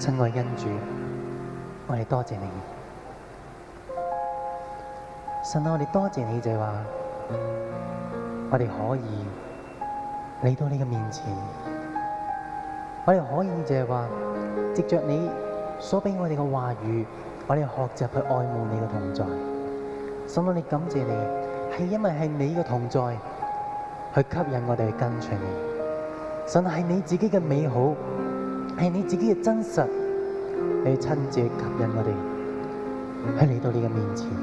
親愛恩主，我哋多謝你。神啊，我哋多謝你就係話，我哋可以嚟到你嘅面前，我哋可以就係話，藉着你所俾我哋嘅話語，我哋學習去愛慕你嘅同在。神啊，我哋感謝你，係因為係你嘅同在，去吸引我哋去跟隨你。神啊，係你自己嘅美好，係你自己嘅真實，你親自去吸引我哋，去嚟到你嘅面前。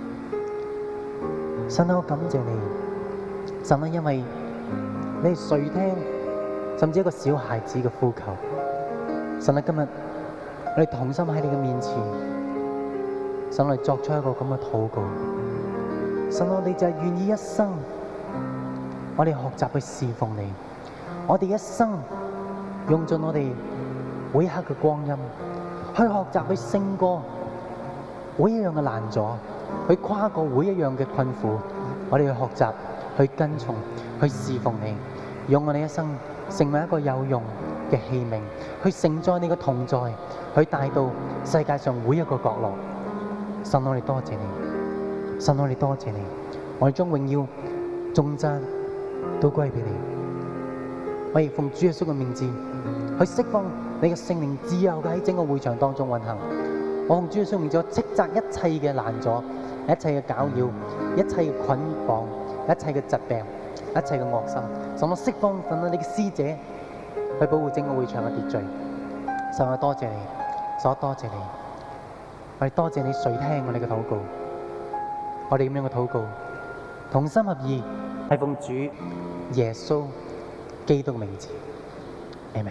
神啊，我感謝你，神啊，因為你係垂聽，甚至一個小孩子嘅呼求。神啊，今日我哋同心喺你嘅面前，神啊，我哋作出一個咁嘅禱告。神啊，我哋就係願意一生，我哋學習去侍奉你，我哋一生用盡我哋每一刻嘅光陰，去學習去勝過每一樣嘅難阻，去跨過每一樣嘅困苦，我哋去學習去跟從，去侍奉你，用我哋一生成為一個有用嘅器皿，去承載你嘅同在，去帶到世界上每一個角落。神，我哋多謝你，神，我哋多謝你，我哋將榮耀頌讚都歸俾你。我亦奉主耶穌嘅名字去釋放你嘅聖靈自由嘅喺整個會場當中運行。我奉主耶穌名字斥責一切嘅攔阻、一切嘅攪擾、一切嘅捆綁、一切嘅疾病、一切嘅惡心，神，我釋放神啊你嘅使者去保護整個會場嘅秩序。神，我多謝你，神，我多謝你，我哋多謝你垂聽我哋嘅禱告。我哋咁樣嘅禱告，同心合意，係奉主耶穌基督嘅名字，Amen。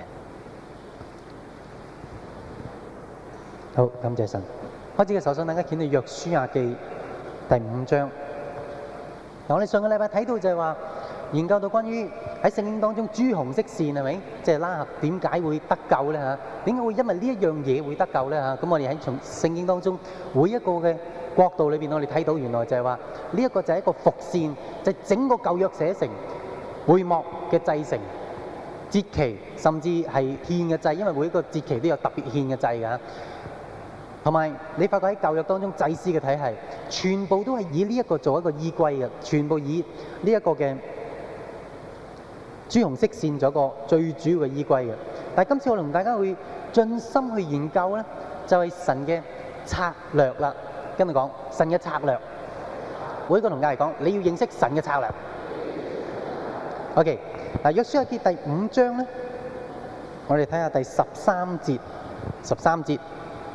好，感謝神。開始嘅時候，想大家見到約書亞記第5章。我哋上個禮拜睇到就係話，研究到關於喺聖經當中朱紅色線係咪？即係拉合點解會得救咧嚇？點解會因為呢一樣嘢會得救咧嚇？咁我哋喺從聖經當中每一個嘅國度裏邊，我哋睇到原來就係話呢一個就係一個伏線，就係整個舊約寫成會幕嘅製成節期，甚至係獻嘅祭，因為每一個節期都有特別獻嘅祭㗎。同埋你發覺喺舊約當中祭司嘅體系，全部都係以呢一個做一個依歸嘅，全部以呢一個嘅朱紅色線做一個最主要嘅依歸嘅。但係今次我同大家會盡心去研究咧，就係神嘅策略啦。跟住講神嘅策略，每一個同大家嚟講，你要認識神嘅策略。OK， 嗱，約書亞記第5章咧，我哋睇下第13節。13節，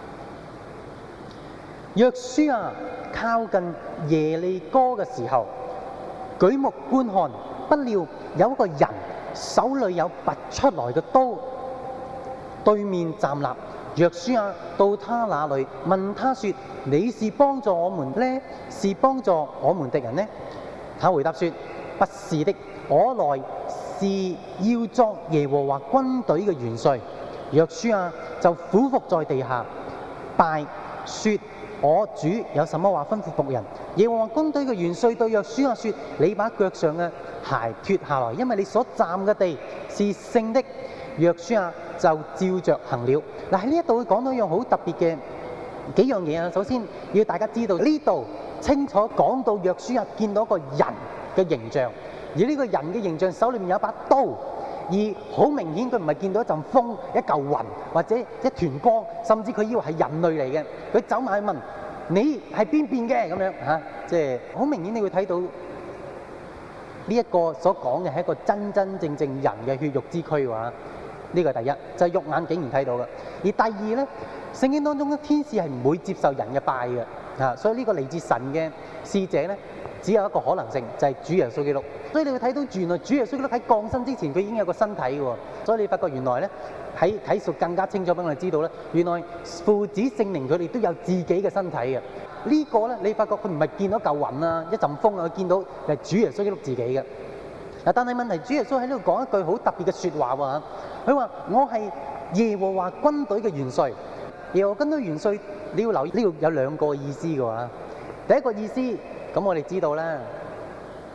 約書亞靠近耶利哥嘅時候，舉目觀看，不料有一個人手裏有拔出來嘅刀，對面站立。約書亞到他那裏，問他說：你是幫助我們呢，是幫助我們敵人呢？他回答說：不是的，我來是要作耶和華軍隊嘅元帥。約書亞就俯伏在地下拜，說：我主有什麼話吩咐僕人？耶和華軍隊嘅元帥對約書亞說：你把腳上嘅鞋脱下來，因為你所站嘅地是聖的。約書亞就照着行了。嗱，喺呢一度會講到一樣好特別嘅幾樣嘢啊。首先要大家知道呢度清楚講到約書亞見到一個人嘅形象，而呢個人嘅形象手裏面有一把刀，而好明顯佢唔係見到一陣風、一嚿雲或者一團光，甚至佢以為係人類嚟嘅。佢走埋去問：你係邊邊嘅？咁樣嚇，即係好明顯你會睇到呢一個所講嘅係一個真真正正人嘅血肉之軀喎。呢個係第一，就係肉眼竟然睇到嘅。而第二咧，聖經當中嘅天使係唔會接受人嘅拜嘅，所以呢個嚟自神嘅使者咧，只有一個可能性，就係主耶穌基督。所以你會睇到原來主耶穌基督喺降生之前，佢已經有個身體嘅喎。所以你發覺原來咧喺啟示更加清楚俾我哋知道咧，原來父子聖靈佢哋都有自己嘅身體嘅。呢個咧你發覺佢唔係見到嚿雲啊、一陣風啊，佢見到係主耶穌基督自己嘅。嗱，但係問題，主耶穌喺呢度講一句好特別嘅説話喎。佢話：我係耶和華軍隊嘅元帥。耶和華軍隊元帥，你要留意呢度有兩個意思嘅喎。第一個意思，咁我哋知道啦，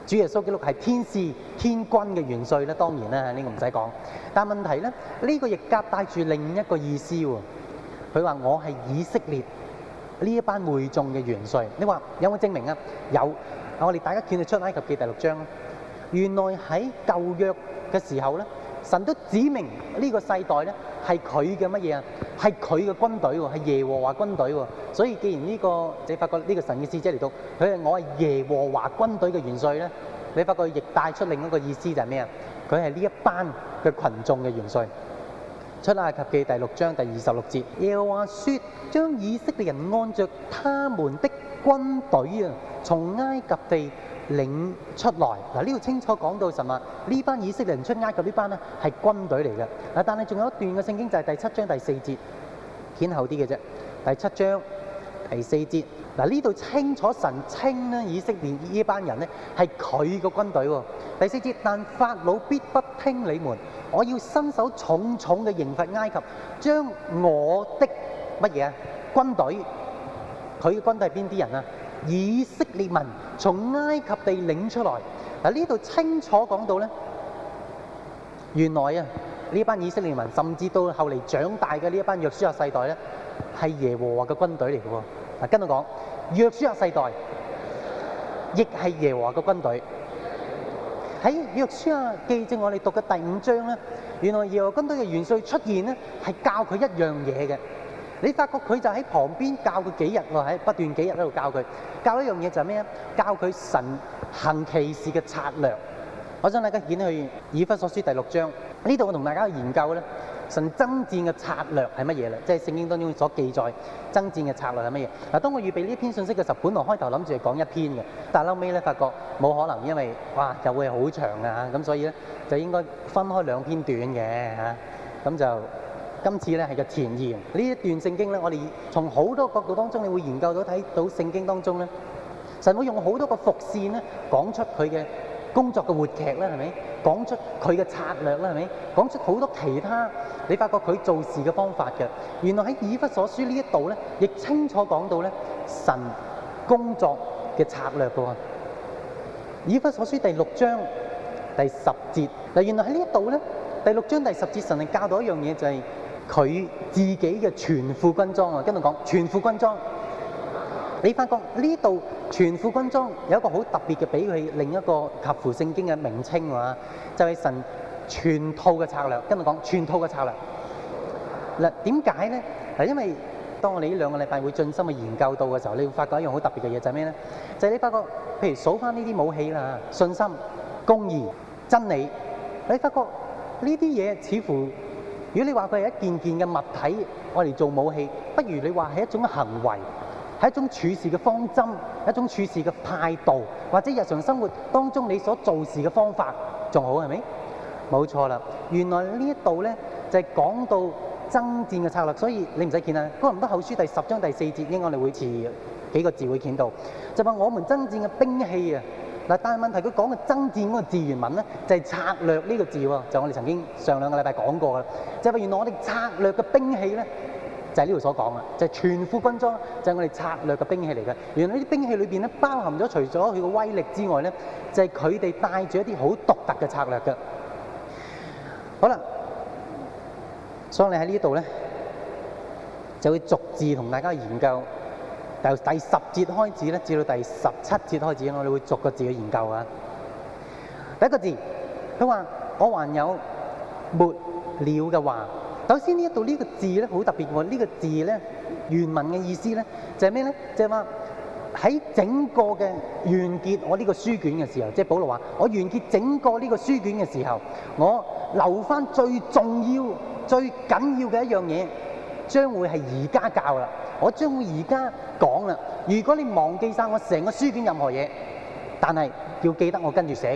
主耶穌基督係天使天軍嘅元帥咧，當然啦，呢個唔使講。但問題咧，呢個亦夾帶住另一個意思喎。佢話我係以色列呢一班會眾嘅元帥。你話有冇證明啊？有。我哋大家見到出埃及記第6章，原來喺舊約嘅時候咧，神都指明呢個世代咧係佢嘅乜嘢啊？係佢嘅軍隊喎，係耶和華軍隊喎。所以既然呢個你發覺呢個神嘅使者嚟到，佢係我係耶和華軍隊嘅元帥咧，你發覺亦帶出另一個意思就係咩啊？佢係呢一班嘅群眾嘅元帥。出埃及記第6章第26節，耶和華說：將以色列人按着他們的軍隊啊，從埃及地領出來。嗱，呢度清楚講到神話呢班以色列人出埃及呢班咧係軍隊嚟嘅。嗱，但係仲有一段嘅聖經就係第7章第4節，顯後啲嘅啫。第7章第4節，嗱，呢度清楚神稱咧以色列呢班人咧係佢個軍隊喎。第4節，但法老必不聽你們，我要伸手重重嘅刑罰埃及，將我的乜嘢啊軍隊，佢嘅軍隊係邊啲人啊？以色列民從埃及地領出來。嗱，呢度清楚講到咧，原來啊呢班以色列民，甚至到後嚟長大嘅呢一班約書亞世代咧，係耶和華嘅軍隊嚟嘅喎。嗱，跟我講，約書亞世代亦係耶和華嘅軍隊。喺約書亞記正我哋讀嘅第5章咧，原來耶和華軍隊嘅元帥出現咧，係教佢一樣嘢嘅。你發覺佢就喺旁邊教佢幾日喎，喺不斷幾日喺度教佢，教一樣嘢就係咩啊？教佢神行奇事嘅策略。我想大家見去以弗所書第6章，呢度我同大家研究咧，神爭戰嘅策略係乜嘢咧？即係聖經當中所記載爭戰嘅策略係乜嘢？嗱，當我預備呢篇信息嘅時候，本來開頭諗住係講一篇嘅，但係後尾咧發覺冇可能，因為哇就會好長啊，咁所以咧就應該分開2篇短嘅嚇，咁就。今次咧係個前言，呢一段聖經咧，我哋從好多角度當中，你會研究到睇到聖經當中咧，神會用好多個伏線咧，講出佢嘅工作嘅活劇啦，係咪？講出佢嘅策略啦，係咪？講出好多其他你發覺佢做事嘅方法嘅。原來喺以弗所書呢一度咧，亦清楚講到咧神工作嘅策略嘅喎。以弗所書第6章第10節，嗱，原來喺呢一度咧，第6章第10節，神係教導一樣嘢，就係佢自己嘅全副軍裝啊！跟住講全副軍裝，你發覺呢度全副軍裝有一個好特別嘅，俾佢另一個合乎聖經嘅名稱喎，就係神全套嘅策略。跟住講全套嘅策略。嗱，點解咧？嗱，因為當我哋呢2個禮拜會盡心去研究到嘅時候，你會發覺一樣好特別嘅嘢，就係咩咧？就係你發覺，譬如數翻呢啲武器啦，信心、公義、真理，你發覺呢啲嘢似乎。如果你話佢係一件件嘅物體，我哋做武器，不如你話係一種行為，係一種處事嘅方針，一種處事嘅態度，或者日常生活當中你所做事嘅方法，仲好係咪？冇錯啦，原來呢一度咧就係講到爭戰嘅策略，所以你唔使見啦。哥林多後書第10章第4節，應該我哋會遲幾個字會見到，就話我們爭戰嘅兵器啊。嗱，但係問題佢講嘅爭戰嗰個字原文咧，就係策略呢個字喎，就我哋曾經上2個禮拜講過噶啦，就係話原來我哋策略嘅兵器咧，就係呢度所講啦，就係全副軍裝，就係我哋策略嘅兵器嚟嘅。原來呢啲兵器裏邊咧，包含咗除咗佢嘅威力之外咧，就係佢哋帶住一啲好獨特嘅策略嘅。好啦，所以你喺呢度咧，就會逐字同大家研究。由第10節開始咧，至到第17節開始，我哋會逐個字去研究啊。第一個字，佢話我還有末了嘅話。首先呢一度呢個字咧好特別喎，呢個字咧原文嘅意思咧就係咩咧？就係話喺整個嘅完結我呢個書卷嘅時候，即係保羅話我完結整個呢個書卷嘅時候，我留翻最重要、最緊要嘅一樣嘢，將會係而家教啦。我將會而家講啦。如果你忘記晒我成個書卷任何嘢，但係要記得我跟住寫，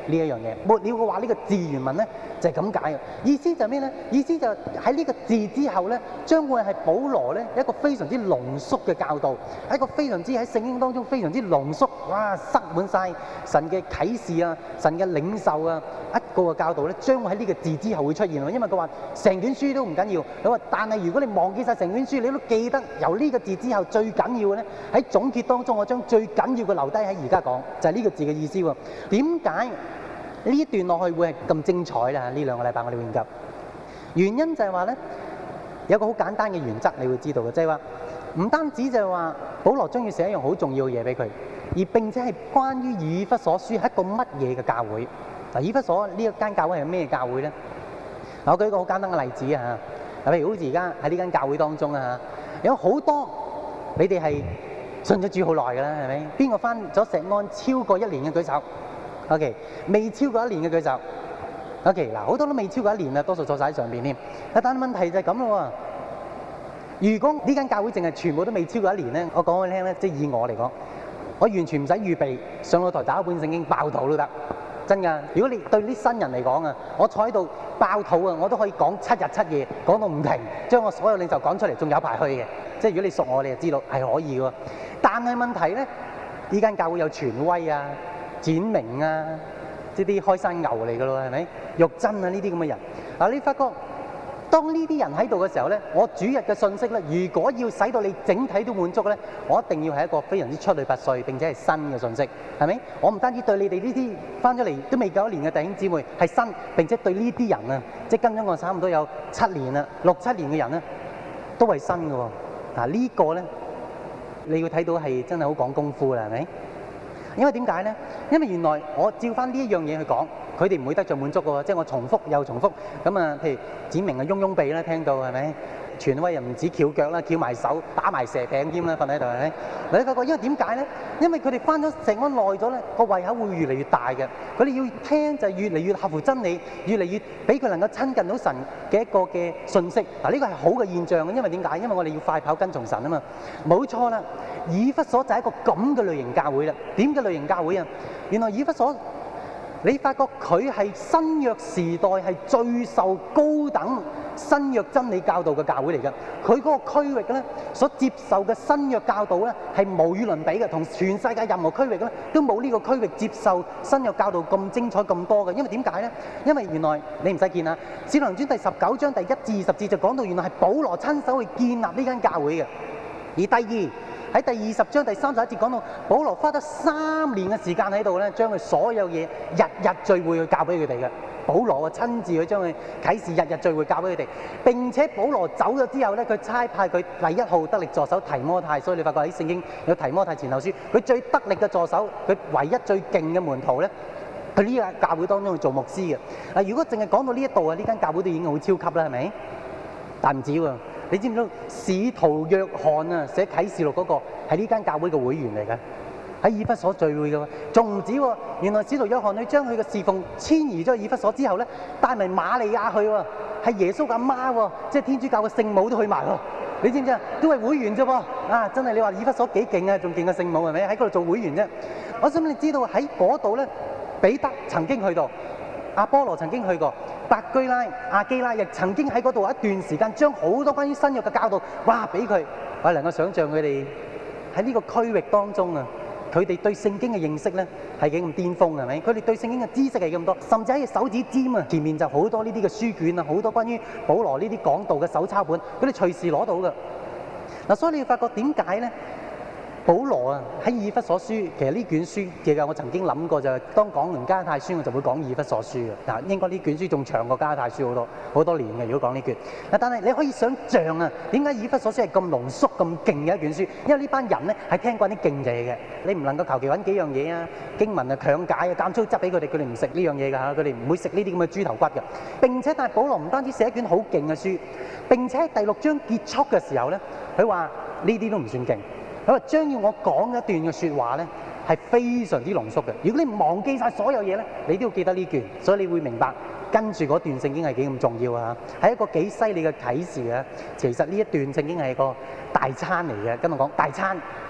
呢一樣嘢。末了嘅話，呢個字原文咧就係咁解嘅。意思就係咩咧？意思就喺呢個字之後咧，將會係保羅咧一個非常之濃縮嘅教導，係一個非常之喺聖經當中非常之濃縮，哇！塞滿晒神嘅啟示啊，神嘅領受啊，一個嘅教導咧，將會喺呢個字之後會出現。因為佢話成卷書都唔緊要，佢話但係如果你忘記晒成卷書，你都記得由呢個字之後最緊要嘅咧，喺總結當中，我將最緊要嘅留低喺而家講，就係呢個字嘅意思喎。點解呢一段落去會係咁精彩啦？呢兩個禮拜我哋會研究，原因就係話咧，有個好簡單嘅原則，你會知道嘅，即係話唔單止就係話保羅將要寫一樣好重要嘅嘢俾佢，而並且係關於以弗所書係一個乜嘢嘅教會。嗱，以弗所呢一間教會係咩教會咧？嗱，我舉一個好簡單嘅例子啊，嗱，譬如好似而家喺呢間教會當中啊，有好多你哋係信咗主好耐㗎啦，係咪？邊個返咗石安超過1年嘅舉手 ？OK， 未超過1年嘅舉手。OK， 嗱，好多都未超過1年啦，多數坐晒喺上邊添。但係問題就係咁咯喎。如果呢間教會淨係全部都未超過1年咧，我講俾你聽咧，即係以我嚟講，我完全唔使預備上到台打一本聖經爆肚都得。真㗎！如果你對啲新人嚟講啊，我坐喺度爆肚啊，我都可以講7日7夜，講到唔停，將我所有領袖講出嚟，仲有排去嘅。即係如果你熟我，你就知道係可以嘅。但係問題咧，呢間教會有權威啊、展明啊，即係啲開山牛嚟㗎咯，係咪？玉珍啊，呢啲咁嘅人嗱，你發覺當呢啲人喺度嘅時候咧，我主日嘅信息咧，如果要使到你整體都滿足咧，我一定要係一個非常之出類拔萃並且係新嘅信息，係咪？我唔單止對你哋呢啲翻咗嚟都未夠1年嘅弟兄姊妹係新，並且對呢啲人啊，即係跟咗我差唔多有7年啦、6、7年嘅人咧，都係新嘅喎。嗱，呢個咧，你要睇到係真係好講功夫啦，係咪？因為點解咧？因為原來我照翻呢一樣嘢去講，佢哋唔會得著滿足嘅喎，即係我重複又重複咁啊。譬如指明啊，擁擁鼻啦，聽到係咪？權威又唔止翹腳啦，翹埋手，打埋蛇餅添啦，瞓喺度係咪？你發覺因為點解咧？因為佢哋翻咗石安耐咗咧，個胃口會越嚟越大嘅。佢哋要聽就係越嚟越合乎真理，越嚟越俾佢能夠親近到神嘅一個嘅信息。嗱，呢個係好嘅現象嘅，因為點解？因為我哋要快跑跟從神啊嘛。冇錯啦，以弗所就係一個咁嘅類型教會啦。點嘅類型教會啊？原來以弗所，你發覺佢係新約時代係最受高等新約真理教導嘅教會嚟嘅。佢嗰個區域咧所接受嘅新約教導咧係無與倫比嘅，同全世界任何區域咧都冇呢個區域接受新約教導咁精彩咁多嘅。因為點解咧？因為原來你唔使見啊，《使徒行傳》第19章第1至20節就講到原來係保羅親手去建立呢間教會嘅。而第二喺第20章第31節講到，保羅花咗3年嘅時間喺度咧，將佢所有嘢日日聚會去教俾佢哋嘅。保羅啊，親自去將佢啟示日日聚會教俾佢哋。並且保羅走咗之後咧，佢差派佢第1號得力助手提摩太，所以你發覺喺聖經有提摩太前後書，佢最得力嘅助手，佢唯一最勁嘅門徒咧，佢呢間教會當中去做牧師嘅。嗱，如果淨係講到呢一度啊，呢間教會都已經好超級啦，係咪？但唔止喎。你知唔知道使徒約翰啊寫啟示錄嗰個係呢間教會嘅會員嚟嘅，喺以弗所聚會嘅喎，仲唔止喎？原來使徒約翰佢將佢嘅侍奉遷移咗去以弗所之後咧，帶埋瑪利亞去喎，係耶穌嘅阿媽喎，即係天主教嘅聖母都去埋喎。你知唔知啊？都係會員啫噃，啊真係你話以弗所幾勁啊，仲勁過聖母係咪？喺嗰度做會員啫。我想你知道喺嗰度咧，彼得曾經去到。阿波羅曾經去過，百居拉、亞基拉亦曾經喺嗰度一段時間，將好多關於新約嘅教導，哇俾佢，我能夠想像佢哋喺呢個區域當中啊，佢哋對聖經嘅認識咧係幾咁巔峰係咪？佢哋對聖經嘅知識係咁多，甚至喺手指尖啊前面就好多呢啲嘅書卷啊，好多關於保羅呢啲講道嘅手抄本，佢哋隨時攞到㗎。嗱，所以你要發覺點解咧？保羅啊喺以弗所書，其實呢卷書其實我曾經諗過就係當講完加拉太書，我就會講以弗所書嘅。嗱，應該呢卷書仲長過加拉太書好多年嘅。如果講呢卷，嗱，但係你可以想像啊，點解以弗所書係咁濃縮咁勁嘅一卷書？因為呢班人咧係聽慣啲勁嘢嘅，你唔能夠求其揾幾樣嘢啊，經文啊強解啊，間粗執俾佢哋，佢哋唔食呢樣嘢㗎嚇，佢哋唔會食呢啲咁嘅豬頭骨嘅。並且但係保羅唔單止寫一卷好勁嘅書，並且喺第6章結束嘅時候咧，佢話呢啲都唔算勁。佢話將要我講一段嘅説話咧，係非常之濃縮嘅。如果你忘記晒所有嘢咧，你都要記得呢卷，所以你會明白跟住嗰段聖經係幾咁重要啊！係一個幾犀利嘅啟示啊！其實呢一段聖經係個大餐嚟嘅，跟我講大餐。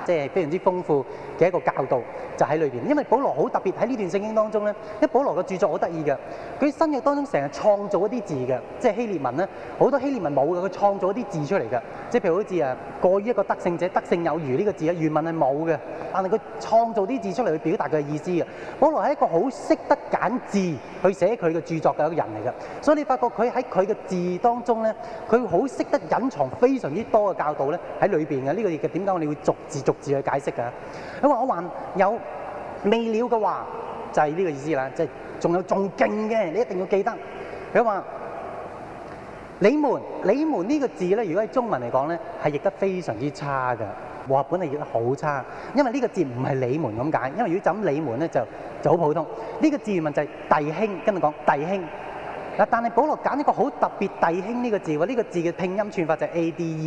即係非常之豐富嘅一個教導就喺裏邊。因為保羅好特別喺呢段聖經當中咧，因為保羅嘅著作好得意嘅，佢新約當中成日創造一啲字嘅，即係希臘文咧，好多希臘文冇嘅，佢創造一啲字出嚟嘅，即係譬如好似過於一個得勝者，得勝有餘呢個字原文係冇嘅，但係佢創造啲字出嚟去表達佢嘅意思嘅。保羅係一個好識得揀字去寫佢嘅著作嘅一個人嚟嘅，所以你發覺佢喺佢嘅字當中咧，佢好識得隱藏非常之多嘅教導咧喺裏邊嘅。呢個亦係點解我哋會逐字去解釋㗎？佢話我還有未了嘅話，就係呢個意思啦，即係仲有仲勁嘅，你一定要記得。佢話你們呢個字咧，如果喺中文嚟講咧，係譯得非常之差㗎。和合本係譯得好差，因為呢個字唔係你們咁解，因為如果就咁你們咧就好普通。呢個字原文就係弟兄，跟住講弟兄。嗱，但係保羅揀一個好特別弟兄呢個字喎，呢個字嘅拼音串法就係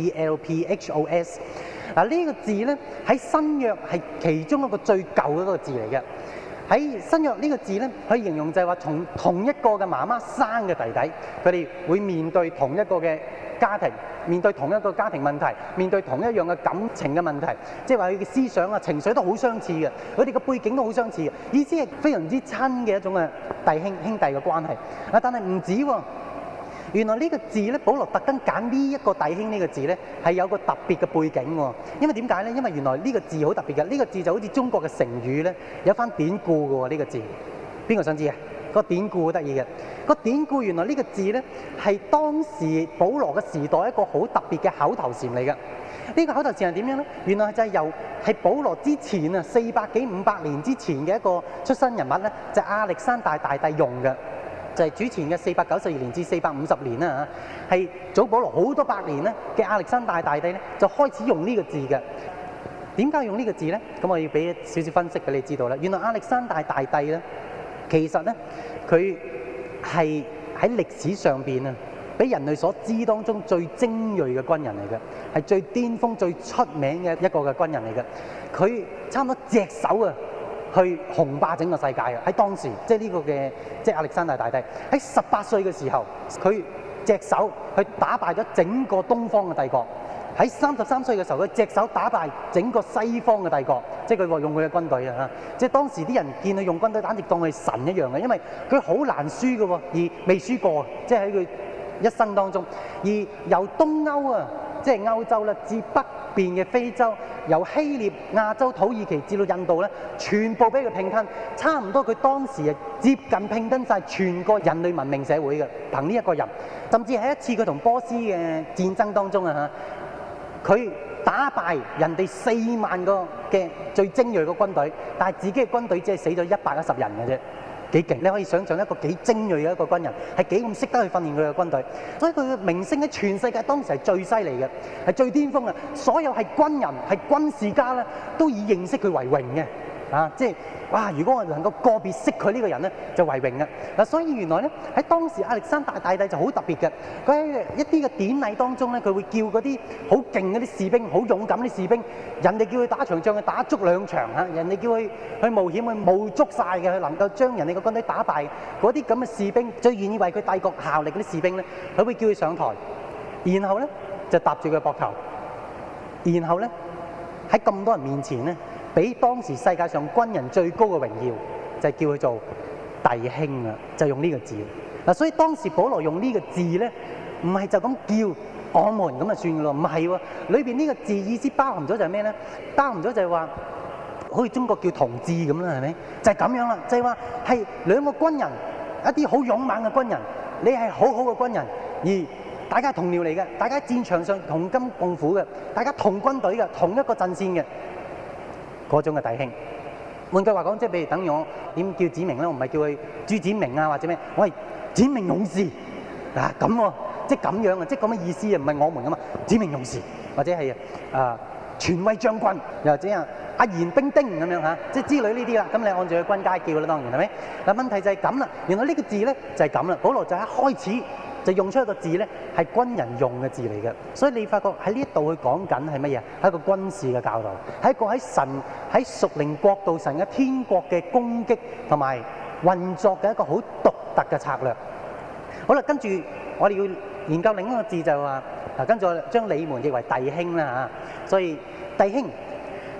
Adelphos。嗱，呢個字咧喺新約係其中一個最舊嘅一個字嚟嘅。喺新約呢個字咧，可以形容就係話從同一個嘅媽媽生嘅弟弟，佢哋會面對同一個嘅家庭，面對同一個家庭問題，面對同一樣嘅感情嘅問題，即係話佢嘅思想啊、情緒都好相似嘅，佢哋嘅背景都好相似嘅，意思係非常之親嘅一種嘅弟兄兄弟嘅關係。啊，但係唔止喎。原來呢個字咧，保羅特登揀呢一個弟兄呢個字咧，係有個特別嘅背景喎。因為點解咧？因為原來呢個字好特別嘅，呢個字就好似中國嘅成語咧，有番典故嘅喎。呢個字，邊個想知啊？個典故好得意嘅，個典故原來呢個字咧係當時保羅嘅時代一個好特別嘅口頭禪嚟嘅。呢個口頭禪係點樣咧？原來就係由係保羅之前啊400幾500年之前嘅一個出生人物咧，就係亞歷山大大帝用嘅。就係主前嘅492年至450年啦嚇，係早保羅好多百年咧嘅亞歷山大大帝咧，就開始用呢個字嘅。點解用呢個字咧？咁我要俾少少分析俾你知道啦。原來亞歷山大大帝咧，其實咧佢係喺歷史上邊啊，俾人類所知當中最精鋭嘅軍人嚟嘅，係最巔峰、最出名嘅一個嘅軍人嚟嘅。佢差唔多隻手啊！去雄霸整個世界嘅，喺當時即係呢個嘅即係亞歷山大大帝喺18歲嘅時候，佢隻手去打敗咗整個東方嘅帝國。喺33歲嘅時候，佢隻手打敗整個西方嘅帝國，即係佢話用佢嘅軍隊啊！即係當時啲人見佢用軍隊，簡直當佢神一樣嘅，因為佢好難輸嘅喎，而未輸過，即係喺佢一生當中。而由東歐啊，即係歐洲啦，至北邊嘅非洲，由希臘、亞洲、土耳其至到印度咧，全部俾佢併吞，差唔多佢當時係接近併吞晒全個人類文明社會嘅，憑呢一個人。甚至喺一次佢同波斯嘅戰爭當中啊嚇，佢打敗人哋4萬個嘅最精鋭嘅軍隊，但係自己嘅軍隊只係死咗110人嘅啫。幾勁！你可以想象一個幾精鋭嘅一個軍人，係幾咁識得去訓練佢嘅軍隊，所以佢嘅名聲喺全世界當時係最犀利嘅，係最巔峰嘅。所有係軍人、係軍事家咧，都以認識佢為榮嘅。啊，即係哇！如果我能夠個別識佢呢個人咧，就為榮嘅。嗱，所以原來咧喺當時亞歷山大大帝就好特別嘅。佢喺一啲嘅典禮當中咧，佢會叫嗰啲好勁嗰啲士兵、好勇敢啲士兵，人哋叫佢打場仗，佢打足2場嚇；人哋叫佢去冒險，去冒足晒嘅，佢能夠將人哋嘅軍隊打敗。嗰啲咁嘅士兵，最願意為佢帝國效力嗰啲士兵咧，佢會叫佢上台，然後咧就搭住佢膊頭，然後咧喺咁多人面前咧，俾當時世界上軍人最高嘅榮耀，就係叫佢做弟兄啊，就用呢個字。嗱，所以當時保羅用呢個字咧，唔係就咁叫我們咁就算嘅咯，唔係喎。裏邊呢個字意思包含咗就係咩咧？包含咗就係話，好似中國叫同志咁啦，係咪？就係咁樣啦，就係話係兩個軍人，一啲好勇猛嘅軍人，你係好好嘅軍人，而大家係同僚嚟嘅，大家喺戰場上同甘共苦嘅，大家同軍隊嘅，同一個陣線嘅。嗰種嘅弟兄，換句話講，即係譬如等於我點叫子明咧，我唔係叫佢朱展明啊或者咩，我係展明勇士啊咁喎，即係咁樣啊，即係咁嘅意思啊，唔係我們咁啊，展明勇士或者係全威將軍，又或者阿賢兵丁咁樣嚇，即係之類呢啲啦。咁你按住佢軍階叫啦，當然係咪？嗱，問題就係咁啦，原來呢個字咧就係咁啦。保羅就一開始就用出一個字咧，係軍人用嘅字嚟嘅，所以你發覺喺呢一度佢講緊係乜嘢？係一個軍事嘅教導，係一個喺神喺屬靈國度、神嘅天國嘅攻擊同埋運作嘅一個好獨特嘅策略。好啦，跟住我哋要研究另一個字就係話，嗱，跟住我將你們譯為弟兄啦嚇，所以弟兄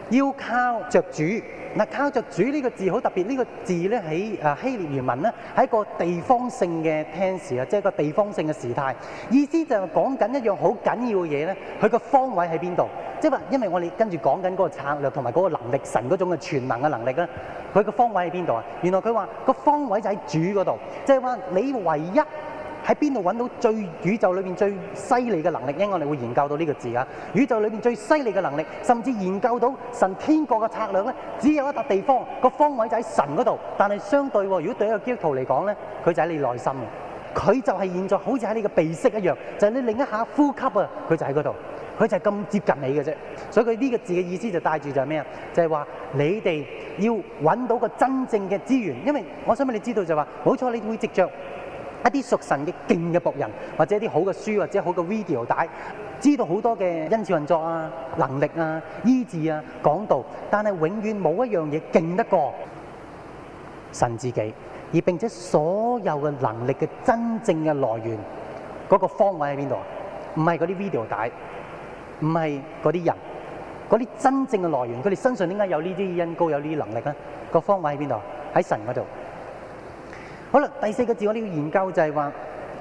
要靠着主。嗱，靠着主呢個字好特別，呢個字咧喺希臘原文咧係一個地方性嘅 tense 啊，即係一個地方性嘅時態，意思就係講緊一樣好緊要嘅嘢咧，佢個方位喺邊度？即係話，因為我哋跟住講緊嗰個策略同埋嗰個能力，神嗰種嘅全能嘅能力咧，佢個方位喺邊度啊？原來佢話個方位就喺主嗰度，即係話你唯一喺邊度揾到最宇宙裏邊最犀利嘅能力？因為我哋會研究到呢個字啊！宇宙裏邊最犀利嘅能力，甚至研究到神天國嘅策略咧，只有一笪地方個方位就喺神嗰度。但係相對喎，如果對一個基督徒嚟講咧，佢就喺你內心嘅，佢就係現在好似喺你嘅鼻息一樣，就係你另一下呼吸啊，佢就喺嗰度，佢就係咁接近你嘅啫。所以佢呢個字嘅意思就帶住就係咩啊？就係話你哋要揾到個真正嘅資源，因為我想俾你知道就係話，冇錯，你會藉著一啲屬神嘅勁嘅僕人，或者一啲好嘅書，或者好嘅 video 帶，知道好多嘅恩賜運作啊、能力啊、醫治啊、講道，但係永遠冇一樣嘢勁得過神自己，而並且所有嘅能力嘅真正嘅來源，嗰個方位喺邊度啊？唔係嗰啲 video 帶，唔係嗰啲人，嗰啲真正嘅來源，佢哋身上點解有呢啲恩膏、有呢啲能力咧？個方位喺邊度？喺神嗰度。好啦，第四個字我哋要研究就係話，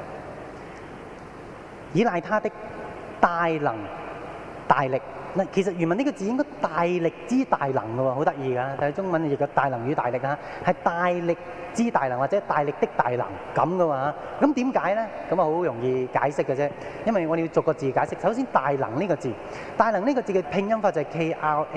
倚賴他的大能大力。嗱，其實原文呢個字應該大力之大能嘅喎，好得意㗎。但係中文亦個大能與大力啊，係大力之大能或者大力的大能咁嘅喎。咁點解咧？咁啊好容易解釋嘅啫，因為我哋要逐個字解釋。首先，大能呢個字，大能呢個字嘅拼音法就係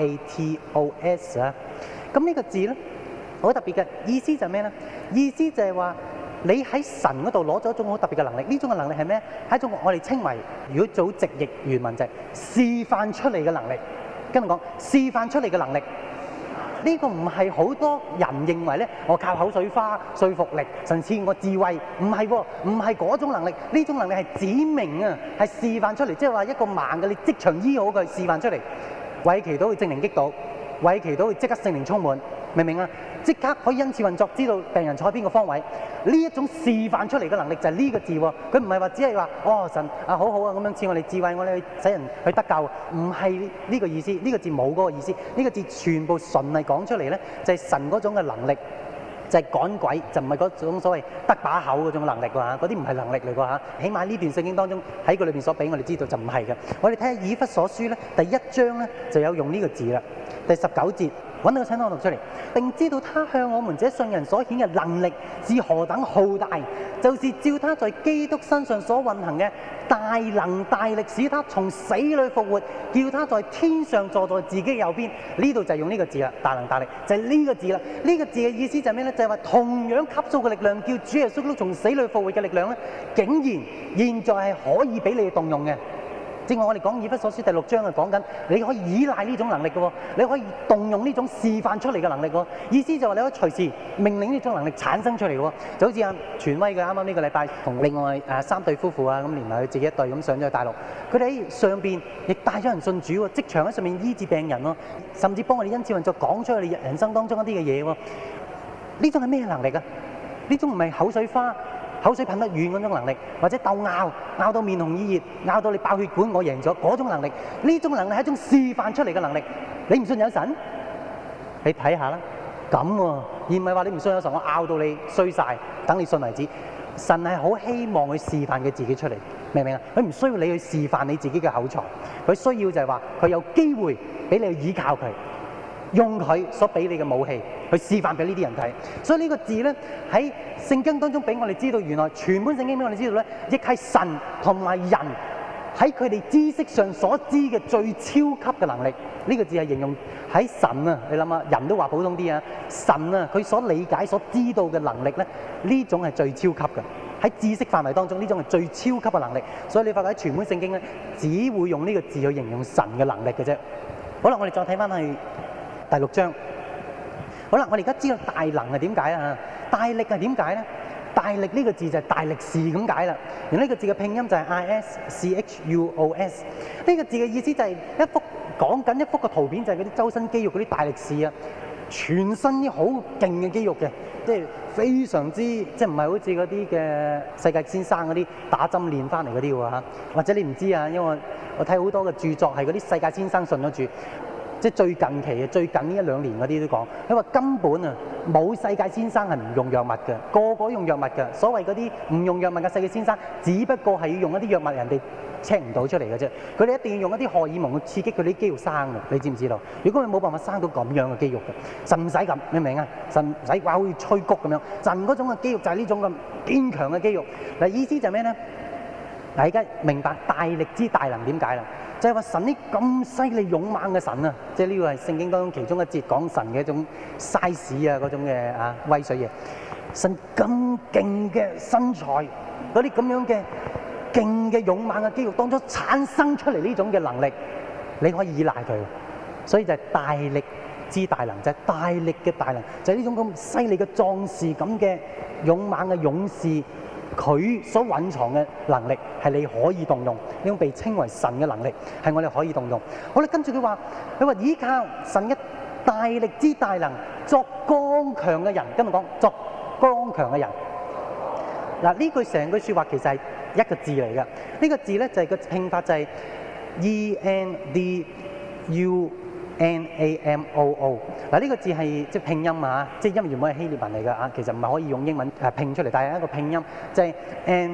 Kratos 啊。咁呢個字咧，好特別嘅意思就係咩咧？意思就係話你喺神嗰度攞咗一種好特別嘅能力，呢種嘅能力係咩？係一種我哋稱為，如果做直譯原文就係示範出嚟嘅能力。跟住講示範出嚟嘅能力，呢個唔係好多人認為咧，我靠口水花、說服力，甚至我智慧，唔係喎，唔係嗰種能力。呢種能力係指明啊，係示範出嚟，即係話一個盲嘅你即場醫好佢，示範出嚟，為祈禱去證明擊倒，為祈禱去即刻聖靈充滿。明唔明啊？即刻可以恩賜運作，知道病人坐喺邊個方位。呢一種示範出嚟嘅能力就係呢個字喎。佢唔係話只係話哦神啊好好啊咁樣賜我哋智慧，我哋去使人去得救。唔係呢個意思，呢個字冇嗰個意思。呢個字全部純係講出嚟咧，就係神嗰種嘅能力，就係趕鬼，就唔係嗰種所謂得把口嗰種能力喎。嗰啲唔係能力嚟㗎嚇。起碼呢段聖經當中喺佢裏邊所俾我哋知道就唔係嘅。我哋睇下以弗所書咧第1章咧就有用呢個字啦，第19節。揾到個請我讀出嚟，並知道他向我們這信人所顯嘅能力是何等浩大，就是照他在基督身上所運行嘅大能大力，使他從死裏復活，叫他在天上坐在自己右邊。呢度就係用呢個字啦，大能大力就係呢個字啦。呢個字嘅意思就係咩咧？就係話同樣級數嘅力量，叫主耶穌基督從死裏復活嘅力量咧，竟然現在係可以俾你哋動用嘅。正話我哋講以弗所書第6章係講緊，你可以依賴呢種能力嘅喎，你可以動用呢種示範出嚟嘅能力喎。意思就話你可以隨時命令呢種能力產生出嚟嘅喎。就好似阿傳威嘅啱啱呢個禮拜同另外3對夫婦啊，咁連埋佢自己一對咁上咗去大陸，佢哋喺上邊亦帶咗人信主喎，即場喺上面醫治病人喎，甚至幫我哋恩賜運作講出佢哋人生當中一啲嘅嘢喎。呢種係咩能力啊？呢種唔係口水花。口水噴得遠嗰種能力，或者鬥拗到面紅耳熱，拗到你爆血管，我贏咗嗰種能力。呢種能力係一種示範出嚟嘅能力。你唔信有神？你睇下啦，咁喎，而唔係話你唔信有神，我拗到你衰晒，等你信為止。神係好希望去示範佢自己出嚟，明唔明啊？佢唔需要你去示範你自己嘅口才，佢需要就係話佢有機會俾你去依靠佢。用佢所俾你嘅武器去示範俾呢啲人睇，所以呢個字咧喺聖經當中俾我哋知道，原來全本聖經俾我哋知道咧，亦係神同埋人喺佢哋知識上所知嘅最超級嘅能力。呢個字係形容喺神啊，你諗下，人都話普通啲啊，神啊佢所理解所知道嘅能力咧，呢種係最超級嘅。喺知識範圍當中，呢種係最超級嘅能力。所以你發覺喺全本聖經咧，只會用呢個字去形容神嘅能力嘅啫。好啦，我哋再睇翻去第6章，好啦，我哋而家知道大能係點解啊？大力係點解咧？大力呢個字就係大力士咁解啦。而呢個字嘅拼音就係 ISCHUOS。呢個字嘅意思就係一幅講緊一幅嘅圖片，就係嗰啲周身肌肉嗰啲大力士啊，全身啲好勁嘅肌肉嘅，即係非常之即係唔係好似嗰啲嘅世界先生嗰啲打針練翻嚟嗰啲喎嚇。或者你唔知啊，因為我睇好多嘅著作係嗰啲世界先生信咗主。 即係最近期嘅最近呢一兩年嗰啲都講，佢話根本啊冇世界先生係唔用藥物嘅，個個用藥物嘅。所謂嗰啲唔用藥物嘅世界先生，只不過係要用一啲藥物人哋check唔到出嚟嘅啫。佢哋一定要用一啲荷爾蒙去刺激佢啲肌肉生嘅，你知唔知道？如果佢冇辦法生到咁樣嘅肌肉嘅，神唔使咁，明唔明啊？神唔使話好似吹谷咁樣，神嗰種嘅肌肉就係呢種咁堅強嘅肌肉。嗱，意思就係咩咧？嗱，而家明白大力之大能點解啦？就係話神呢咁犀利勇猛嘅神啊，即係呢個係聖經當中其中一節講神嘅一種 size 啊嗰種嘅威水嘢。神咁勁嘅身材，嗰啲咁樣嘅勁嘅勇猛嘅肌肉當中產生出嚟呢種嘅能力，你可以依賴佢。所以就係大力之大能，就係大力嘅大能，就係呢種咁犀利嘅壯士咁嘅勇猛嘅勇士。佢所蘊藏嘅能力係你可以動用，呢種被稱為神嘅能力係我哋可以動用。好啦，跟住佢話依靠神嘅大力之大能作剛強嘅人，跟住講作剛強嘅人。嗱，呢句成句説話其實係一個字嚟嘅，呢個字咧就係個拼法就係 ENDUNAMOO。嗱，呢個字係即係拼音啊，即係因為原本係希臘文嚟㗎啊，其實唔係可以用英文拼出嚟，但係一個拼音就係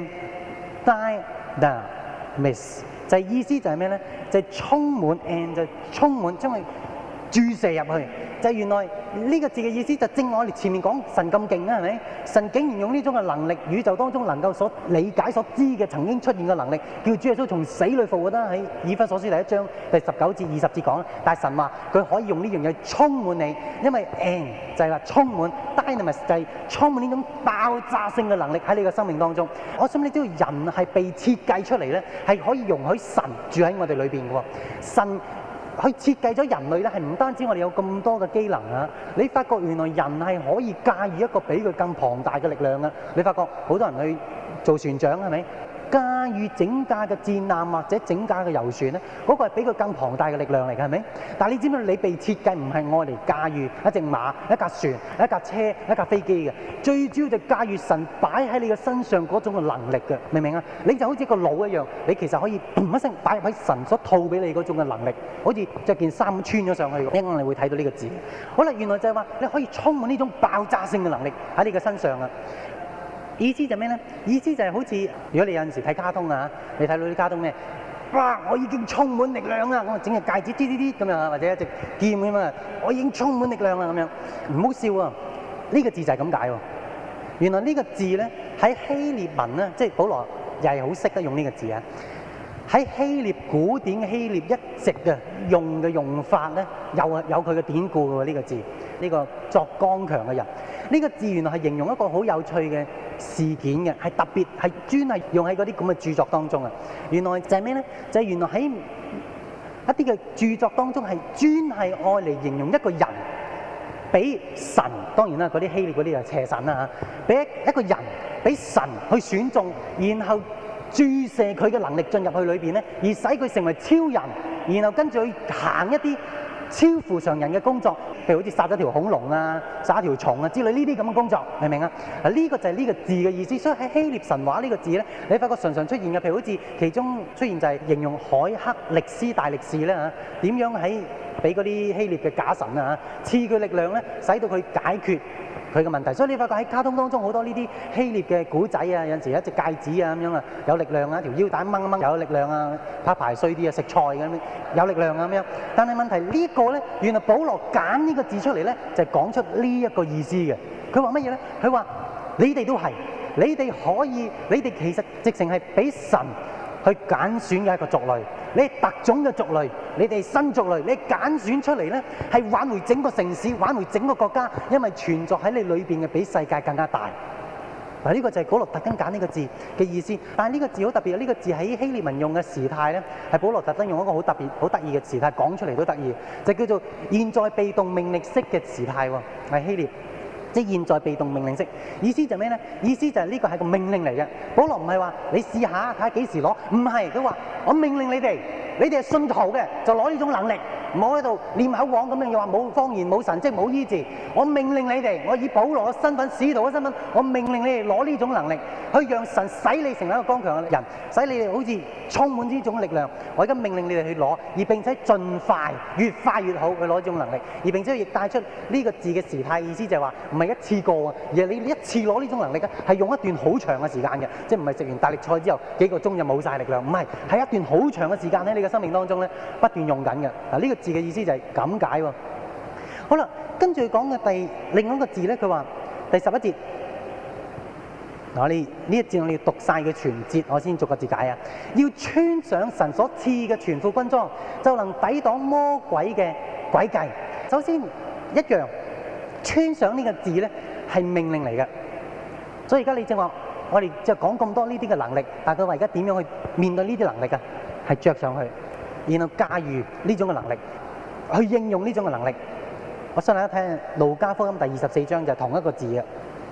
Andynamis，就係意思就係咩咧？就係充滿 and 就充滿將佢注射入去。就係原來呢個字嘅意思就正我哋前面講神咁勁啊，係咪？神竟然用呢種嘅能力，宇宙當中能夠所理解所知嘅曾經出現嘅能力，叫主耶穌從死裏復活啦。喺以弗所書第1章第19至20節講，但係神話佢可以用呢樣嘢充滿你，因為 and 就係話充滿 dynamis 就係充滿呢種爆炸性嘅能力喺你嘅生命當中。我想你知道人係被設計出嚟咧，係可以容許神住喺我哋裏邊嘅喎，神。佢設計咗人類咧，係唔單止我哋有咁多嘅機能啊！你發覺原來人係可以駕馭一個比佢更龐大嘅力量啊！你發覺好多人去做船長係咪？駕馭整架嘅戰艦或者整架嘅遊船咧，嗰個係比佢更龐大嘅力量嚟嘅係咪？但係你知唔知你被設計唔係愛嚟駕馭一隻馬、一架船、一架車、一架飛機嘅，最主要就駕馭神擺喺你嘅身上嗰種嘅能力嘅，明唔明啊？你就好似個腦一樣，你其實可以砰一聲擺入喺神所套俾你嗰種嘅能力，好似著件衫穿咗上去。一陣你會睇到呢個字。好啦，原來就係話你可以充滿呢種爆炸性嘅能力喺你嘅身上啊！意思就咩咧？意思就係好似如果你有陣時睇卡通啊，你睇到啲卡通咩？哇！我已經充滿力量啦！我整隻戒指啲咁樣，或者一隻劍咁啊！我已經充滿力量啦咁樣。唔好笑啊！呢個字就係咁解喎。原來呢個字咧喺希臘文咧，即係保羅又係好識得用呢個字啊。喺希臘古典嘅希臘一直嘅用法咧，有佢嘅典故嘅喎呢個字。呢個作剛強嘅人，呢個字原來係形容一個好有趣嘅事件嘅，係特別係專係用喺嗰啲咁嘅著作當中啊。原來就係咩咧？就係原來喺一啲嘅著作當中係專係愛嚟形容一個人俾神，當然啦，嗰啲希臘嗰啲就邪神啦嚇，俾一個人俾神去選中，然後注射佢嘅能力進入去裏邊咧，而使佢成為超人，然後跟住去行一啲超乎常人嘅工作，譬如好似殺咗條恐龍啊、殺一條蟲啊之類呢啲咁嘅工作，明唔明啊？嗱，呢個就係呢個字嘅意思。所以喺希臘神話呢個字咧，你發覺常常出現嘅，譬如好似其中出現就係形容海克力斯大力士咧嚇，點樣喺俾嗰啲希臘嘅假神啊賜佢力量咧，使到佢解決佢嘅問題。所以你發覺喺卡通當中好多呢啲希臘嘅古仔啊，有陣時一隻戒指啊咁樣啊，有力量啊，條腰帶掹一掹有力量啊，拍排衰啲啊，食菜咁樣有力量啊咁樣。但係問題呢個咧，原來保羅揀呢個字出嚟咧，就係講出呢一個意思嘅。佢話乜嘢咧？佢話你哋都係，你哋可以，你哋其實直情係俾神去揀選嘅一個族類，你係特種嘅族類，你哋新族類，你揀選出嚟咧，係挽回整個城市，挽回整個國家，因為存在喺你裏邊嘅比世界更加大。嗱，呢個就係保羅特登揀呢個字嘅意思。但係呢個字好特別，呢個字喺希臘文用嘅時態咧，係保羅特登用一個好特別、好得意嘅時態講出嚟都得意，就叫做現在被動命令式嘅時態喎，係希臘。即係現在被動命令式，意思就係咩咧？意思就係呢個係個命令嚟嘅。保羅唔係話你試下睇下幾時攞，唔係，佢話我命令你哋係信徒嘅就攞呢種能力， 唔好喺度念口簧咁樣，又話冇方言、冇神蹟、冇醫治。我命令你哋，我以保羅嘅身份、使徒嘅身份，我命令你哋攞呢種能力，去讓神使你成為一個剛強嘅人，使你哋好似充滿呢種力量。我而家命令你哋去攞，而並且盡快、越快越好去攞呢種能力，而並且亦帶出呢個字嘅時態，意思就係話唔係一次過啊，而係你一次攞呢種能力嘅，係用一段好長嘅時間嘅，即係唔係食完大力菜之後幾個鐘就冇晒力量，唔係，係一段好長嘅時間喺你嘅生命當中咧不斷用緊嘅。嗱，呢個字嘅意思就係咁解喎。好啦，跟住佢講嘅另外一個字咧，佢話第11節。嗱，我哋呢一節我哋要讀晒佢全節，我先逐個字解啊。要穿上神所賜嘅全副軍裝，就能抵擋魔鬼嘅詭計。首先一樣，穿上呢個字咧係命令嚟嘅，所以而家你正話我哋就講咁多呢啲嘅能力，但係佢話而家點樣去面對呢啲能力啊？係着上去，然後駕馭呢種嘅能力，去應用呢種嘅能力。我想大家睇路加福音第24章就係同一個字嘅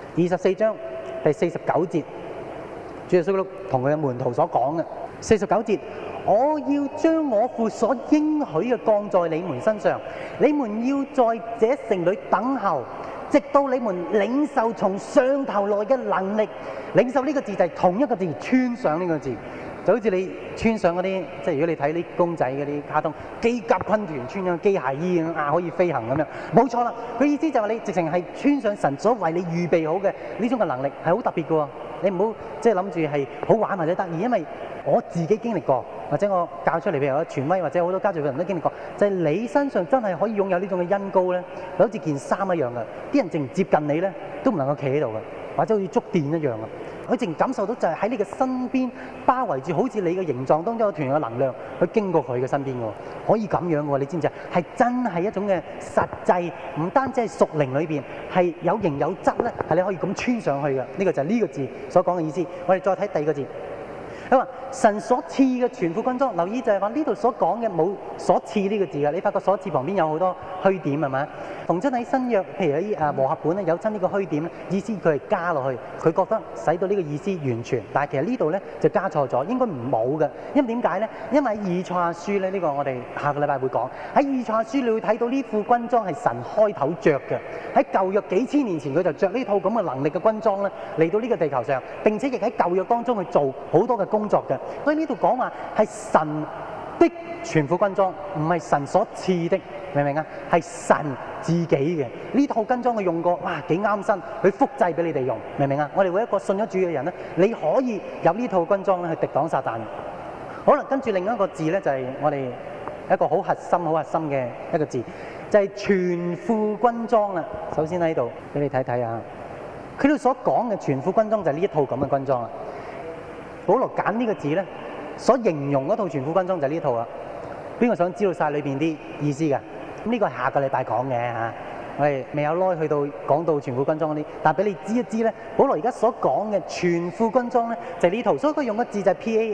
24章。第49節，主耶穌基督同佢嘅門徒所講嘅49節，我要將我父所應許嘅降在你們身上，你們要在這城裏等候，直到你們領受從上頭來嘅能力。領受呢個字就係同一個字，穿上呢個字，就好似你穿上嗰啲，即係如果你睇啲公仔嗰啲卡通，機甲軍團穿上機械衣啊，可以飛行咁樣，冇錯啦。佢意思就係話你直情係穿上神所為你預備好嘅呢種嘅能力，係好特別嘅喎。你唔好即係諗住係好玩或者得意，因為我自己經歷過，或者我教出嚟譬如我傳威或者好多家族嘅人都經歷過，就係你身上真係可以擁有呢種嘅恩膏咧，就好似件衫一樣嘅，啲人淨接近你咧都唔能夠企喺度嘅，或者好似觸電一樣嘅。佢淨感受到就係喺你嘅身邊包圍住，好似你嘅形狀當中有團嘅能量去經過佢嘅身邊喎，可以咁樣嘅喎，你知唔知啊？係真係一種嘅實際，唔單止係屬靈裏邊係有形有質咧，係你可以咁穿上去嘅。呢個就係呢個字所講嘅意思。我哋再睇第二個字。佢話神所賜嘅全副軍裝，留意就係話呢度所講嘅冇所賜呢個字嘅，你發覺所賜旁邊有好多虛點係咪？逢親喺新約，譬如喺和合本咧有親呢個虛點咧，意思佢係加落去，佢覺得使到呢個意思完全，但係其實呢度咧就加錯咗，應該唔冇嘅。因為點解咧？因為喺以賽亞書咧，呢個我哋下個禮拜會講。喺以賽亞書你會睇到呢副軍裝係神開頭着嘅，喺舊約幾千年前佢就着呢套咁嘅能力嘅軍裝咧嚟到呢個地球上，並且亦喺舊約當中去做好多嘅工作嘅。所以呢度講話係神的全副軍裝，唔係神所賜的，明唔明啊？係神自己嘅呢套軍裝，佢用過，哇幾啱身，佢複製俾你哋用，明唔明啊？我哋每一個信咗主嘅人咧，你可以有呢套軍裝咧去敵擋撒旦。好啦，跟住另一個字咧就係我哋一個好核心嘅一個字，就係全副軍裝啦。首先喺度俾你睇睇啊，佢哋所講嘅全副軍裝就係呢一套咁嘅軍裝啦。保羅揀呢個字咧，所形容嗰套全副軍裝就係呢套啦。邊個想知道晒裏邊啲意思㗎？咁呢個係下個禮拜講嘅嚇，我哋未有耐去到講到全副軍裝嗰啲，但係俾你知一知咧，保羅而家所講嘅全副軍裝咧就係呢套，所以佢用嘅字就係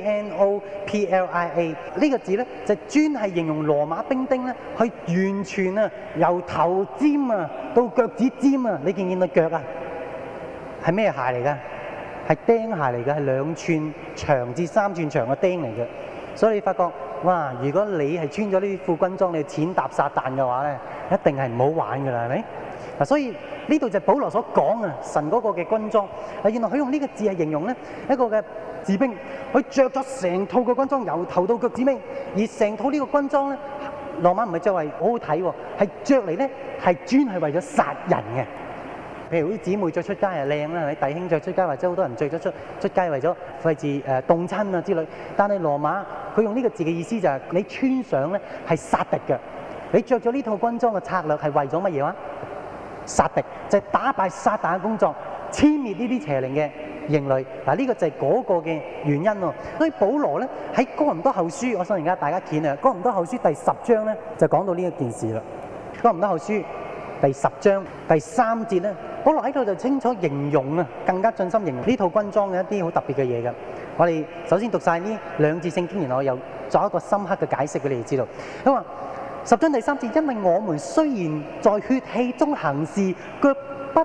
PANOPLIA 呢個字咧就專係形容羅馬兵丁咧，去完全啊由頭尖啊到腳趾尖啊，你見唔見到腳啊？係咩鞋嚟㗎？係釘鞋嚟嘅，係2寸長至3寸長嘅釘嚟嘅。所以你發覺，哇！如果你係穿咗呢副軍裝，你踐踏撒旦嘅話咧，一定係唔好玩㗎啦，係咪？嗱，所以呢度就係保羅所講啊，神嗰個嘅軍裝。啊，原來佢用呢個字係形容咧一個嘅士兵，佢着咗成套嘅軍裝，由頭到腳趾尾，而成套呢個軍裝咧，羅馬唔係著為好好睇喎，係着嚟咧係專係為咗殺人嘅。譬如啲姊妹着出街係靚啦，弟兄着出街或者好多人着咗出街為咗費事凍親啊之類。但係羅馬佢用呢個字嘅意思就係你穿上咧係殺敵嘅，你着咗呢套軍裝嘅策略係為咗乜嘢話？殺敵就係打敗撒旦嘅工作，殲滅呢啲邪靈嘅營壘。嗱，呢個就係嗰個嘅原因喎。所以保羅咧喺哥林多後書，我想而家大家見啊，哥林多後書第10章咧就講到呢一件事啦。哥林多後書第10章第3節咧，保羅喺度就清楚形容啊，更加盡心形容呢套軍裝嘅一啲好特別嘅嘢嘅。我哋首先讀晒呢2節聖經，然後我又作一個深刻嘅解釋俾你哋知道。佢話10章第3節，因為我們雖然在血氣中行事，卻不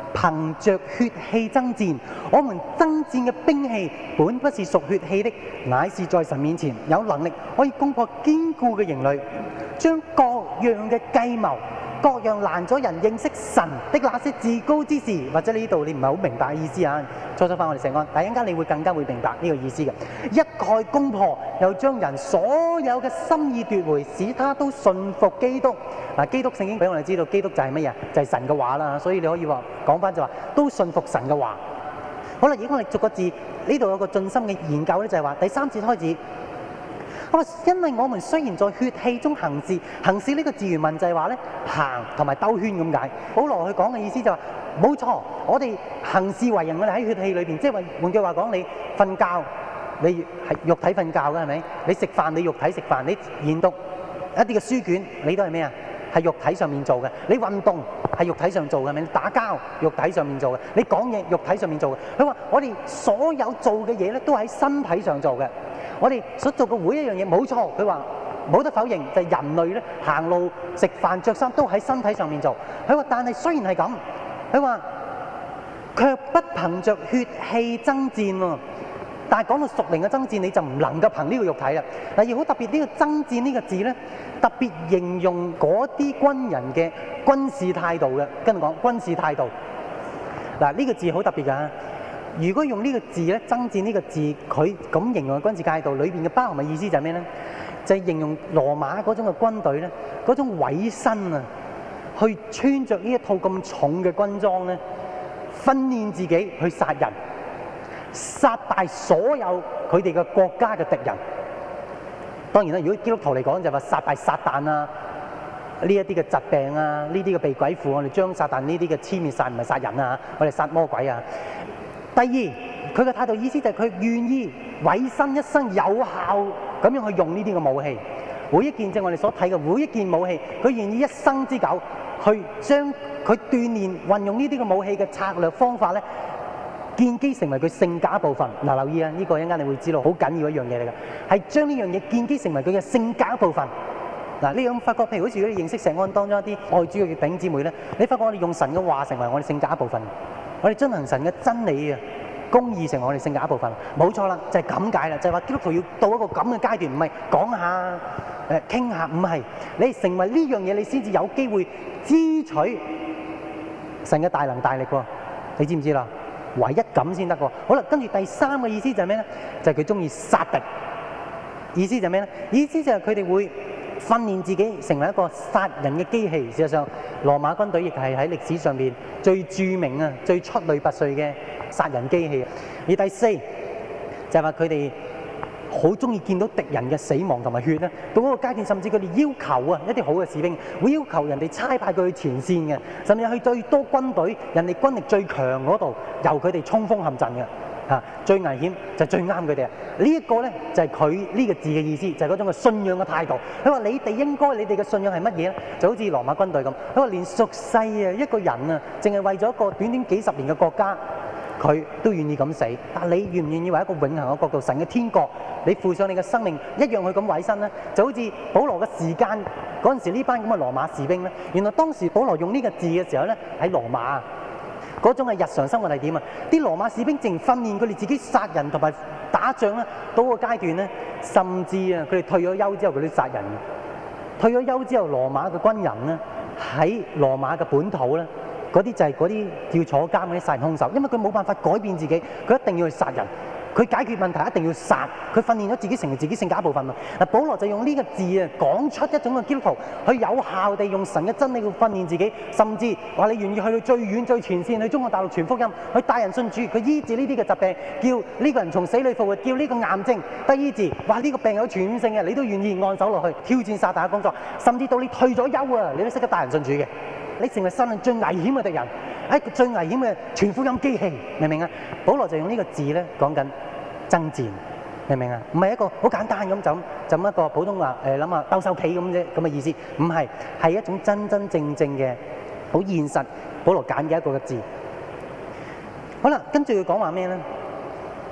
憑着血氣爭戰，我們爭戰嘅兵器本不是屬血氣的，乃是在神面前有能力可以攻破堅固嘅營壘，將各樣嘅計謀、各樣攔阻人認識神的那些至高之事，或者呢度你唔係好明白意思啊？初翻我哋成個，但係一陣間你會更加會明白呢個意思嘅，一概攻破，又將人所有嘅心意奪回，使他都信服基督。嗱，基督聖經俾我哋知道，基督就係乜嘢？就係神嘅話啦，所以你可以話講翻就話都信服神嘅話。好啦，而家我哋逐個字呢度有個盡心嘅研究咧，就係話第3節開始。我話因為我們雖然在血氣中行事，行事呢個字原文就係話咧行同埋兜圈咁解。保羅佢講嘅意思就話冇錯，我哋行事為人，我哋喺血氣裏邊，即係話換句話講，你瞓覺你係肉體瞓覺嘅係咪？你食飯你肉體食飯，你研讀一啲嘅書卷你都係咩啊？係肉體上面做嘅，你運動係肉體上做嘅，係咪？你打交肉體上面做嘅，你講嘢肉體上面做嘅。佢話我哋所有做嘅嘢咧，都喺身體上做嘅。我哋所做嘅每一樣嘢，冇錯。佢話冇得否認，就係人類咧行路、食飯、着衫都喺身體上面做。佢話但係雖然係咁，佢話卻不憑着血氣爭戰喎。但係講到屬靈嘅爭戰，你就唔能夠憑呢個肉體啦。嗱，而好特別呢個爭戰呢個字咧，特別形容嗰啲軍人嘅軍事態度嘅。跟住講軍事態度。嗱，呢個字好特別㗎。如果用呢個字咧，爭戰呢個字，佢咁形容嘅軍事態度裏邊嘅包含嘅意思就係咩咧？就係形容羅馬嗰種嘅軍隊咧，嗰種委身啊，去穿着呢一套咁重嘅軍裝咧，訓練自己去殺人。殺敗所有佢哋嘅國家嘅敵人。當然啦，如果基督徒嚟講就話殺敗撒旦啊，呢一啲嘅疾病啊，呢啲嘅被鬼附，我哋將撒旦呢啲嘅殲滅晒，唔係殺人啊，我哋殺魔鬼啊。第二，佢嘅態度意思就係佢願意委身一生有效咁樣去用呢啲嘅武器。每一件即係我哋所睇嘅每一件武器，佢願意一生之久去將佢鍛鍊運用呢啲嘅武器嘅策略方法咧，建基成為佢性格一部分。嗱，留意啊，呢個一陣間你會知道好緊要一樣嘢嚟嘅，係將呢樣嘢建基成為佢嘅性格一部分。嗱，呢樣發覺，譬如好似如果你認識石安當中一啲愛主嘅弟兄姊妹咧，你發覺我哋用神嘅話成為我哋性格一部分，我哋遵行神嘅真理啊、公義成為我哋性格一部分。冇錯啦，就係咁解啦，就係話基督徒要到一個咁嘅階段，唔係講下傾下，唔係你成為呢樣嘢，你先至有機會支取神嘅大能大力喎。你知唔知啦？唯一咁先得喎。好啦，跟住第三個意思就係咩咧？就係佢中意殺敵。意思就係咩咧？意思就係佢哋會訓練自己成為一個殺人嘅機器。事實上，羅馬軍隊亦係喺歷史上邊最著名啊、最出類拔萃嘅殺人機器。而第四就係話佢哋好中意見到敵人嘅死亡同埋血咧。到嗰個階段，甚至佢哋要求啊一啲好嘅士兵，會要求人哋差派佢去前線嘅，甚至去最多軍隊、人哋軍力最強嗰度，由佢哋衝鋒陷陣嘅。最危險就最啱佢哋啊！呢一個咧就係佢呢個字嘅意思，就係嗰種嘅信仰嘅態度。佢話你哋應該，你哋嘅信仰係乜嘢咧？就好似羅馬軍隊咁。佢話連屬世啊一個人啊，淨係為咗一個短短幾十年嘅國家，佢都願意咁死。但你願唔願意為一個永恆嘅國度、神嘅天國，你付上你嘅生命一樣去咁委身咧？就好似保羅嘅時間嗰陣時，呢班咁嘅羅馬士兵咧，原來當時保羅用呢個字嘅時候咧，喺羅馬嗰種係日常生活係點啊？啲羅馬士兵淨訓練佢哋自己殺人同埋打仗咧，到個階段咧，甚至啊，佢哋退咗休之後佢都殺人嘅。退咗休之後，羅馬嘅軍人咧喺羅馬嘅本土咧，嗰啲就係嗰啲要坐監嗰啲殺人兇手，因為佢冇辦法改變自己，佢一定要去殺人。佢解決問題一定要殺，佢訓練咗自己成為自己性格一部分咯。嗱，保羅就用呢個字啊，講出一種嘅基督徒，去有效地用神嘅真理去訓練自己，甚至話你願意去到最遠最前線，去中國大陸傳福音，去帶人信主，佢醫治呢啲嘅疾病，叫呢個人從死裏復活，叫呢個癌症得醫治，話呢個病有傳染性嘅，你都願意按手落去挑戰撒旦嘅工作，甚至到你退咗休啊，你都識得帶人信主嘅。你成為世上最危險嘅敵人，一個最危險嘅傳福音機器，明唔明啊？保羅就用呢個字咧講緊爭戰，明唔明啊？唔係一個好簡單咁就咁一個普通話諗下鬥獸棋咁啫咁嘅意思，唔係，係一種真真正正嘅好現實。保羅揀嘅一個嘅字。好啦，跟住佢講話咩咧？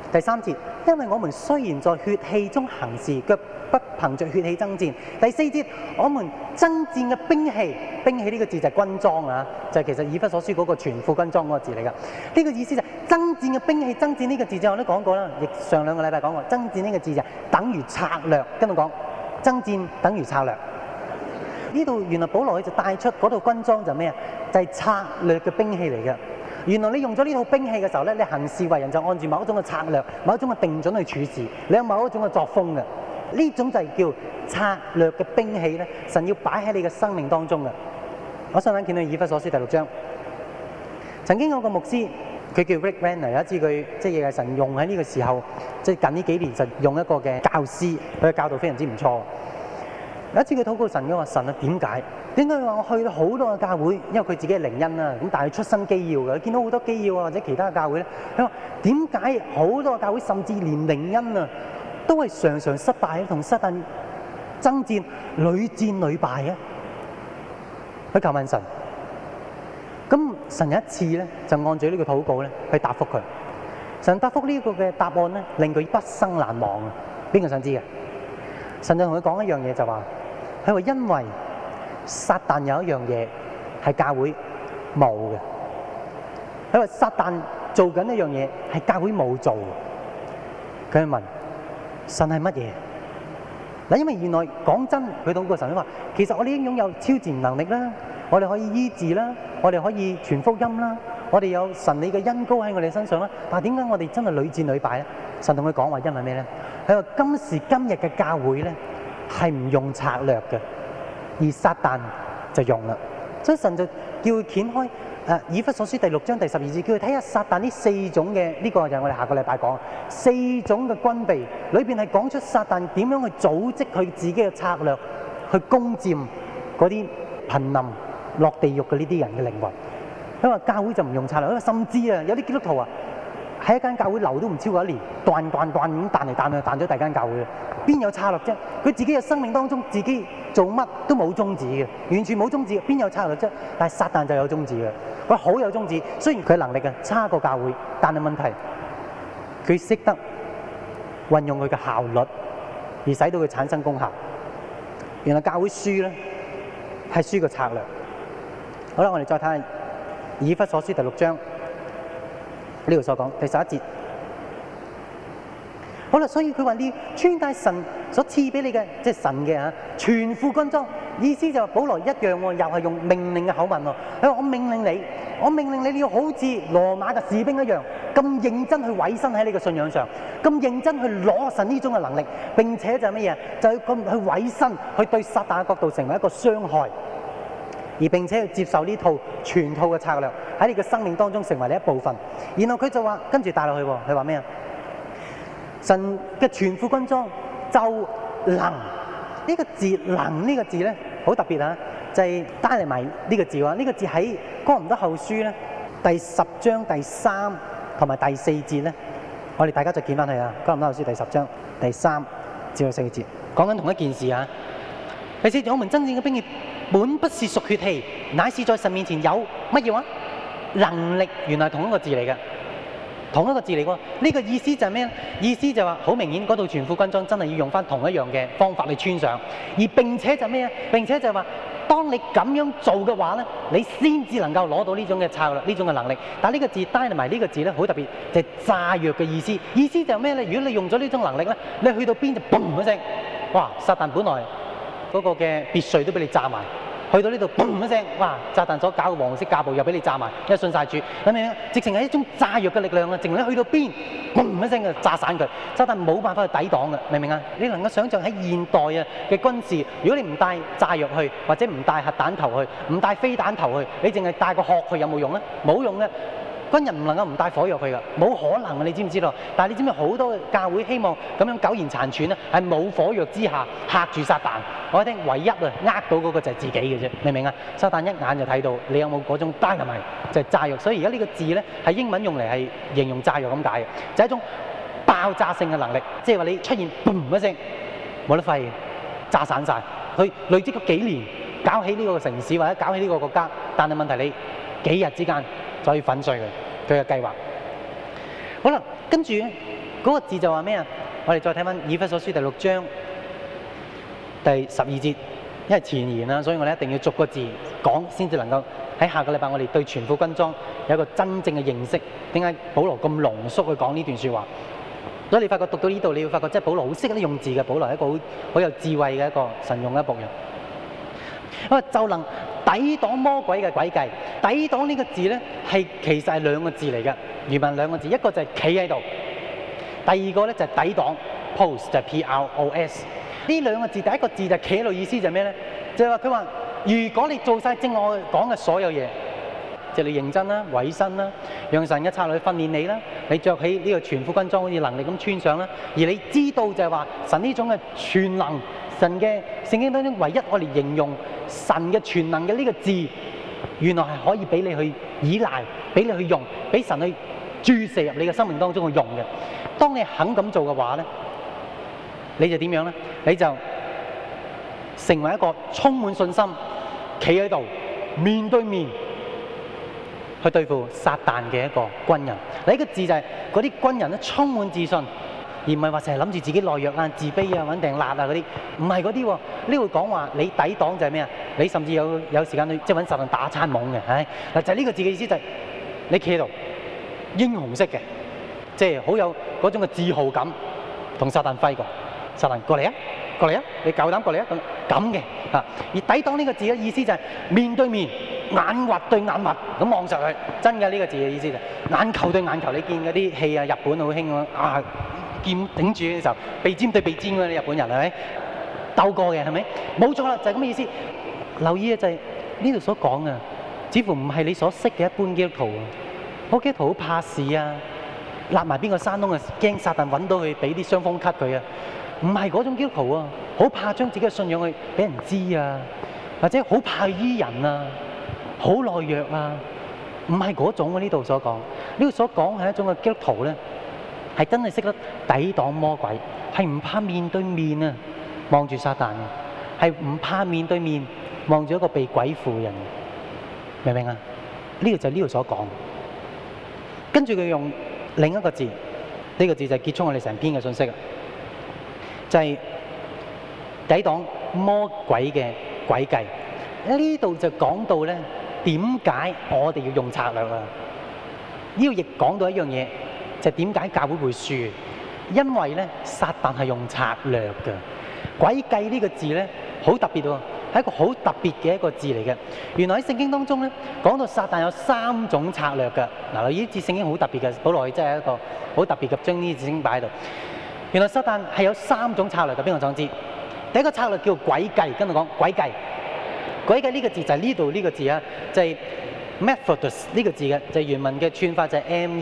第3節，因為我們雖然在血氣中行事，卻不憑着血氣爭戰。第4節，我們爭戰嘅兵器，兵器呢個字就係軍裝啊，就係其實以弗所書嗰個全副軍裝嗰個字嚟㗎。呢個意思就係爭戰嘅兵器，爭戰呢個字就我都講過啦，亦上2個禮拜講過，爭戰呢個字就等於策略，跟我講，爭戰等於策略。呢度原來保羅佢就帶出嗰套軍裝就咩啊？就係策略嘅兵器嚟嘅。原來你用咗呢套兵器嘅時候咧，你行事為人就按住某一種嘅策略、某一種嘅定準去處事，你有某一種嘅作風嘅。呢種就係叫策略嘅兵器咧，神要擺喺你嘅生命當中嘅。我想見到以弗所書第6章，曾經有個牧師，佢叫 Rick Renner， 有一次佢即係神用喺呢個時候，即係近呢幾年神用一個嘅教師，佢嘅教導非常之唔錯。有一次佢禱告神嘅話：神啊，點解佢話我去到好多嘅教會，因為佢自己係靈恩啦，咁但係出身基要嘅，佢見到好多基要啊或者其他嘅教會咧，佢話點解好多嘅教會甚至連靈恩啊都係常常失敗，同撒但爭戰，屢戰屢敗嘅？佢求問神，咁神有一次咧就按住呢個禱告咧去答覆佢。神答覆呢個嘅答案咧令佢畢生難忘啊！邊個想知嘅？神就同佢講一樣嘢，就話佢話因為撒但有一樣嘢係教會冇嘅，佢話撒但做緊一樣嘢係教會冇做嘅。佢問神係乜嘢？嗱，因為原來講真，佢禱告神話，其實我哋已經擁有超自然能力啦，我哋可以醫治啦，我哋可以傳福音啦，我哋有神理嘅恩膏喺我哋身上啦。但係點解我哋真係屢戰屢敗咧？神同佢講話，因為咩咧？佢話今時今日嘅教會咧係唔用策略嘅，而撒但就用啦。所以神就叫佢掀開以弗所書第6章第12節，叫佢睇下撒但呢4種嘅，呢個就係我哋下個禮拜講4種嘅軍備裏邊係講出撒但點樣去組織佢自己嘅策略去攻佔嗰啲瀕臨落地獄嘅呢啲人嘅靈魂。佢話教會就唔用策略，因為甚至有啲基督徒喺一間教會留都唔超過1年，斷咁彈嚟彈去，彈咗第二間教會嘅，邊有策略啫？佢自己嘅生命當中，自己做乜都冇宗旨嘅，完全冇宗旨，邊有策略啫？但係撒但就有宗旨嘅，佢好有宗旨。雖然佢能力差過教會，但係問題佢識得運用佢嘅效率，而使到佢產生功效。原來教會輸咧係輸個策略。好啦，我哋再睇下以弗所書第6章。呢度所講第11節，好啦，所以佢話你穿戴神所賜俾你嘅，即係神嘅全副軍裝。意思就係保羅一樣喎，又係用命令嘅口吻喎。佢話我命令你，你要好似羅馬嘅士兵一樣，咁認真去委身喺你嘅信仰上，咁認真去攞神呢種嘅能力，並且就係乜嘢？就係咁去委身，去對撒但嘅角度成為一個傷害。而並且要接受呢套全套嘅策略喺你嘅生命當中成為你一部分。然後佢就話跟住帶落去喎，佢話咩啊？神嘅全副軍裝就能呢個字，能呢個字咧好特別啊！就係帶嚟埋呢個字喎。呢個字喺哥林多後書咧第10章第3同埋第4節咧，我哋大家就見翻去啊！哥林多後書第10章第3至到4節，講緊同一件事啊！第4節，我們真正嘅兵器本不是屬血氣，乃是在神面前有乜嘢話？能力。原來同一個字嚟嘅，同一個字嚟喎。呢個意思就係咩咧？意思就話好明顯，嗰套全副軍裝真係要用翻同一樣嘅方法去穿上。而並且就咩啊？並且就話，當你咁樣做嘅話咧，你先至能夠攞到呢種嘅策略，呢種嘅能力。但係呢個字帶埋呢個字咧，好特別，就係炸藥嘅意思。意思就係咩咧？如果你用咗呢種能力咧，你去到邊就嘣一聲，哇！撒但本來嗰個嘅別墅都俾你炸埋，去到呢度嘣一聲，哇！撒但所搞嘅黃色架步又俾你炸埋，因為信晒主，明唔明啊？直情係一種炸藥嘅力量啊！直情你去到邊，嘣一聲就炸散佢，撒但冇辦法去抵擋嘅，明唔明啊？你能夠想象喺現代嘅軍事，如果你唔帶炸藥去，或者唔帶核彈頭去，唔帶飛彈頭去，你淨係帶個殼去，有冇用咧？冇用嘅。軍人唔能夠唔帶火藥去㗎，冇可能嘅，你知唔知道？但係你知唔知好多教會希望咁樣苟延殘喘咧，係冇火藥之下嚇住撒但。我聽唯一呃到嗰個就係自己嘅啫，明唔明啊？撒但一眼就睇到你有冇嗰種 dynamite，就係炸藥。所以而家呢個字咧係英文用嚟係形容炸藥咁解嘅，就係一種爆炸性嘅能力，即係話你出現嘣一聲冇得廢，炸散晒。佢累積咗幾年搞起呢個城市或者搞起呢個國家，但係問題你幾日之間就可以粉碎佢嘅計劃。好啦，跟住咧嗰個字就話咩啊？我哋再睇翻以弗所書第6章第12節，因為前言啦，所以我哋一定要逐個字講，先至能夠喺下個禮拜我哋對全副軍裝有一個真正嘅認識。點解保羅咁濃縮去講呢段説話？所以你發覺讀到呢度，你會發覺即係保羅好識得用字嘅，保羅係一個好有智慧嘅一個神用嘅僕人。咁啊，就能抵擋魔鬼嘅詭計。抵擋呢個字咧，其實係兩個字嚟嘅，原文兩個字，一個就係企喺度，第二個咧就係抵擋 ，pose 就係 P-R-O-S。呢兩個字，第一個字就係企喺度，意思就係咩咧？就係話佢話，如果你做晒正我講嘅所有嘢，即係你認真啦、委身啦，讓神嘅策略去訓練你啦，你着起呢個全副軍裝好似能力咁穿上啦，而你知道就係話神呢種嘅全能，神嘅聖經當中唯一我哋形容神嘅全能嘅呢個字，原來係可以俾你去依賴，俾你去用，俾神去注射入你嘅生命當中去用嘅。當你肯咁做嘅話咧，你就點樣咧？你就成為一個充滿信心，企喺度面對面去對付撒旦嘅一個軍人。嗱，呢個字就係嗰啲軍人咧充滿自信，而唔係話成日諗住自己懦弱啊、自卑啊、揾定辣啊嗰啲，唔係嗰啲喎。呢度講話你抵擋就係咩啊？你甚至有時間去即係揾撒旦打餐懵嘅，嗱就係呢個字嘅意思，就係你企喺度英雄式嘅，即係好有嗰種嘅自豪感，同撒旦揮過。撒旦過嚟啊，過嚟啊，你夠膽過嚟啊，咁嘅啊。而抵擋呢個字嘅意思就係面對面，眼核對眼核咁望實佢，真嘅呢個字嘅意思就係眼球對眼球。你見嗰啲戲啊，日本好興啊，劍頂住嘅時候，鼻尖對鼻尖嗰啲日本人係咪鬥過嘅係咪？冇錯啦，就係咁嘅意思。留意嘅就係呢度所講啊，似乎唔係你所識嘅一般基督徒啊。嗰基督徒好怕事啊，揦埋邊個山窿啊，驚撒旦揾到佢，俾啲傷風咳佢啊。唔係嗰種基督徒啊，好怕將自己嘅信仰去俾人知啊，或者好怕醫人啊，好懦弱啊，唔係嗰種啊。呢度所講，呢度所講係一種嘅基督徒咧，係真係識得抵擋魔鬼，係唔怕面對面啊，望住撒旦嘅，係唔怕面對面望住一個被鬼附嘅人，明唔明啊？呢個就係呢度所講。跟住佢用另一個字，呢個字就係結束我哋成篇嘅信息啊。就係抵擋魔鬼嘅詭計。呢度就講到咧，點解我哋要用策略啊？呢度亦講到一樣嘢，就係點解教會會輸？因為咧，撒旦係用策略嘅。詭計呢個字咧，好特別喎，係一個好特別嘅一個字嚟嘅。原來喺聖經當中咧，講到撒旦有3種策略嘅。嗱，呢節聖經好特別嘅，保羅真係一個好特別嘅，將呢節聖經擺喺度。原來撒旦係有3種策略嘅，邊個想知？第一個策略叫詭計，跟住講詭計。詭計呢個字就係呢度呢個字啊，就係 methodos 呢個字嘅，就係原文嘅串法就係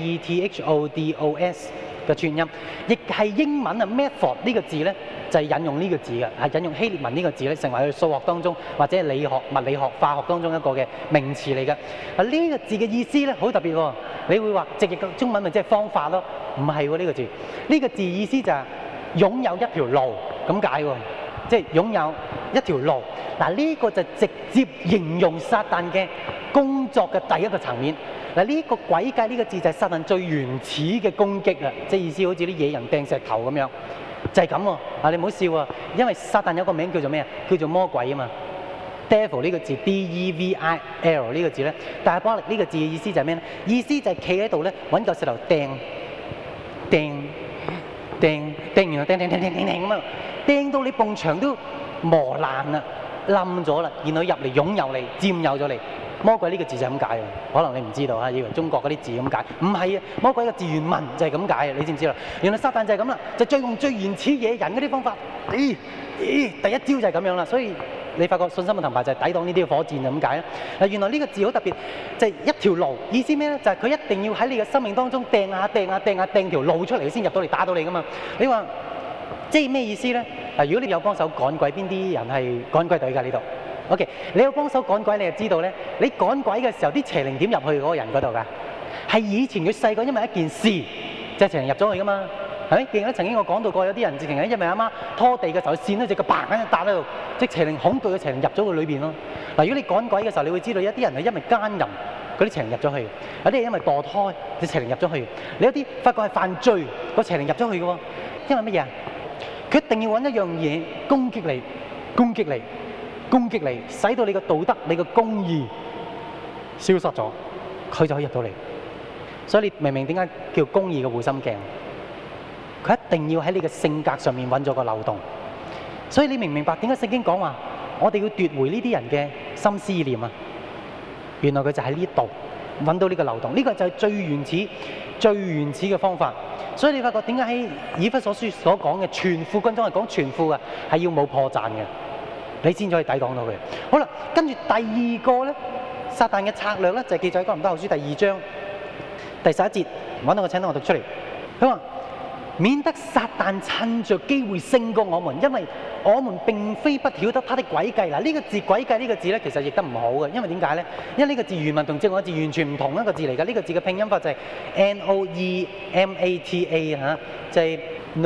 methodos 嘅串音，亦係英文啊 method 呢個字咧，就係引用呢個字嘅，係引用希臘文呢個字咧，成為佢數學當中或者係理學、物理學、化學當中一個嘅名詞嚟嘅。啊，呢個字嘅意思咧好特別喎，你會話直譯嘅中文咪即係方法咯？唔係喎，呢個字，呢個字意思就係擁有一條路咁解喎，即係擁有一條路。嗱，呢個就直接形容撒旦嘅工作嘅第一個層面。嗱，呢個詭計呢個字就係撒旦最原始嘅攻擊啊！即係意思好似啲野人掟石頭咁樣，就係咁喎。啊，你唔好笑啊，因為撒旦有個名叫做咩啊？叫做魔鬼啊嘛。Devil 呢個字 D-E-V-I-L 呢個字咧，但係巴力呢個字嘅意思就係咩咧？意思就係企喺度咧，揾嚿石頭掟，完後掟咁啊，掟到你埲牆都磨爛啦、冧咗啦，然後入嚟擁有你、佔有咗你。魔鬼呢個字就係咁解喎，可能你唔知道啊，以為中國嗰啲字咁解，唔係啊，魔鬼嘅字原文就係咁解啊，你知唔知啦？原來撒旦就係咁啦，就用最原始野人嗰啲方法，第一招就係咁樣啦，所以你發覺信心嘅盾牌就係抵擋呢啲火箭就咁解啦。嗱，原來呢個字好特別，就係一條路，意思咩咧？就係佢一定要喺你嘅生命當中掟條路出嚟先入到嚟打到你噶嘛。你話即係咩意思咧？嗱，如果你有幫手趕鬼，邊啲人係趕鬼隊㗎呢度？OK， 你有幫手趕鬼，你就知道咧。你趕鬼嘅時候，啲邪靈點入去嗰個人嗰度㗎？係以前佢細個因為一件事，就邪靈入咗去㗎嘛，係咪？記得曾經我講到過，有啲人直情係因為阿媽拖地嘅時候，跣咗隻腳嘭一笪喺度，即邪靈恐懼嘅邪靈入咗佢裏邊咯。嗱，如果你趕鬼嘅時候，你會知道有啲人係因為奸淫嗰啲邪靈入咗去；有啲係因為墮胎，啲邪靈入咗去；你有啲發覺係犯罪，個邪靈入咗去嘅喎。因為乜嘢啊？佢一定要揾一樣嘢攻擊你、攻擊你、攻擊你，使到你嘅道德、你嘅公義消失咗，佢就可以入到嚟。所以你明唔明點解叫公義嘅護心鏡？佢一定要喺你嘅性格上面揾咗個漏洞。所以你明唔明白點解聖經講話我哋要奪回呢啲人嘅心思意念啊？原來佢就喺呢度揾到呢個漏洞，呢個就係最原始、最原始嘅方法。所以你發覺點解喺以弗所書所講嘅全副軍裝係講全副嘅，係要冇破綻嘅，你先可以抵擋到佢。好啦，跟住第二個咧，撒旦嘅策略咧就係記載喺哥林多後書第2章第11節，揾到個請等我讀出嚟。佢話：免得撒旦趁着機會勝過我們，因為我們並非不曉得他的詭計。嗱，呢個字詭計呢個字咧，其實譯得唔好嘅，因為點解咧？因為呢個字原文同正我字完全唔同一個字嚟㗎。呢個字嘅拼音法就係 Noemata 嚇，就係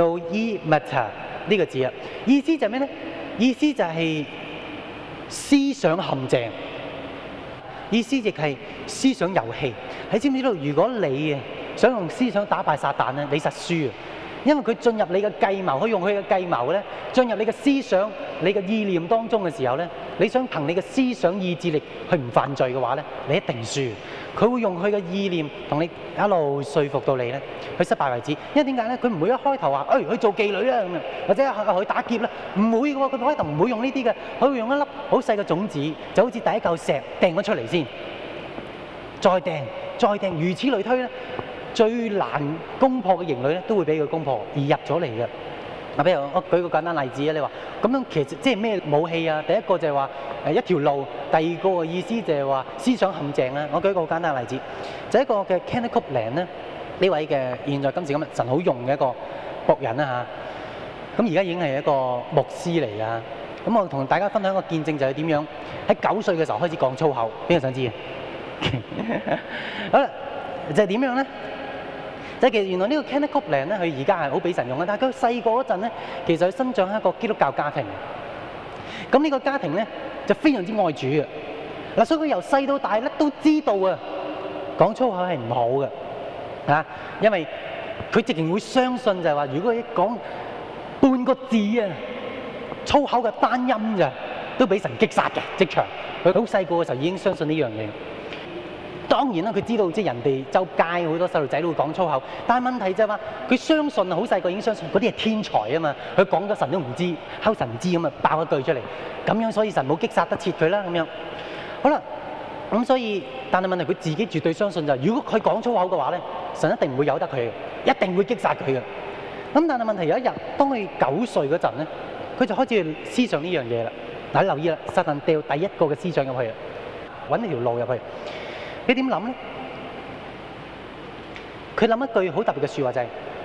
Noemata 呢個字啊。意思就係咩咧？意思就係思想陷阱，意思亦係思想遊戲。你知唔知道？如果你想用思想打敗撒旦咧，你實輸啊！因為佢進入你嘅計謀，佢用佢嘅計謀咧，進入你嘅思想、你嘅意念當中嘅時候咧，你想憑你嘅思想意志力去唔犯罪嘅話咧，你一定輸。佢會用佢嘅意念同你一路說服到你咧，去失敗為止。因為點解咧？佢唔會一開頭話，去做妓女啦咁樣，或者去打劫啦，唔會嘅喎。佢開頭唔會用呢啲嘅，佢會用一粒好細嘅種子，就好似第一嚿石掟咗出嚟先，再掟，如此類推咧。最難攻破嘅營壘咧，都會俾佢攻破而入咗嚟嘅。嗱，譬如我舉個簡單例子啊，你話咁樣其實即係咩武器啊？第一個就係話一條路，第二個嘅意思就係話思想陷阱啦。我舉一個好簡單嘅例子，就係一個嘅 Kenneth Copeland 咧，呢位嘅現在今時今日神好用嘅一個僕人啦嚇。咁而家已經係一個牧師嚟㗎。咁我同大家分享一個見證，就係點樣喺9歲嘅時候開始講粗口。邊個想知啊？好啦，就係點樣咧？即係其實原來呢個 Kenneth Copeland 咧，佢而家係好俾神用嘅，但係佢細個嗰陣咧，其實佢生長喺一個基督教家庭。咁呢個家庭咧就非常之愛主嘅。嗱，所以佢由細到大咧都知道啊，講粗口係唔好嘅，啊，因為佢直情會相信就係話，如果佢講半個字啊，粗口嘅單音咋，都俾神擊殺嘅即場。佢好細個嘅時候已經相信呢樣嘢。當然啦，佢知道即係人哋周街好多細路仔都會講粗口，但係問題就係話佢相信啊，好細個已經相信嗰啲係天才啊嘛，佢講咗神都唔知，敲神唔知咁啊爆一句出嚟，咁樣所以神冇擊殺得切佢啦咁樣。好啦，咁所以但係問題佢自己絕對相信就係，如果佢講粗口嘅話咧，神一定唔會由得佢嘅，一定會擊殺佢嘅。咁但係問題有一日，當佢9歲嗰陣咧，佢就開始思想呢樣嘢啦。嗱，你留意啦，撒旦掉第一個嘅思想入去啊，揾一條路入去。你點諗咧？佢諗一句好特別嘅説話，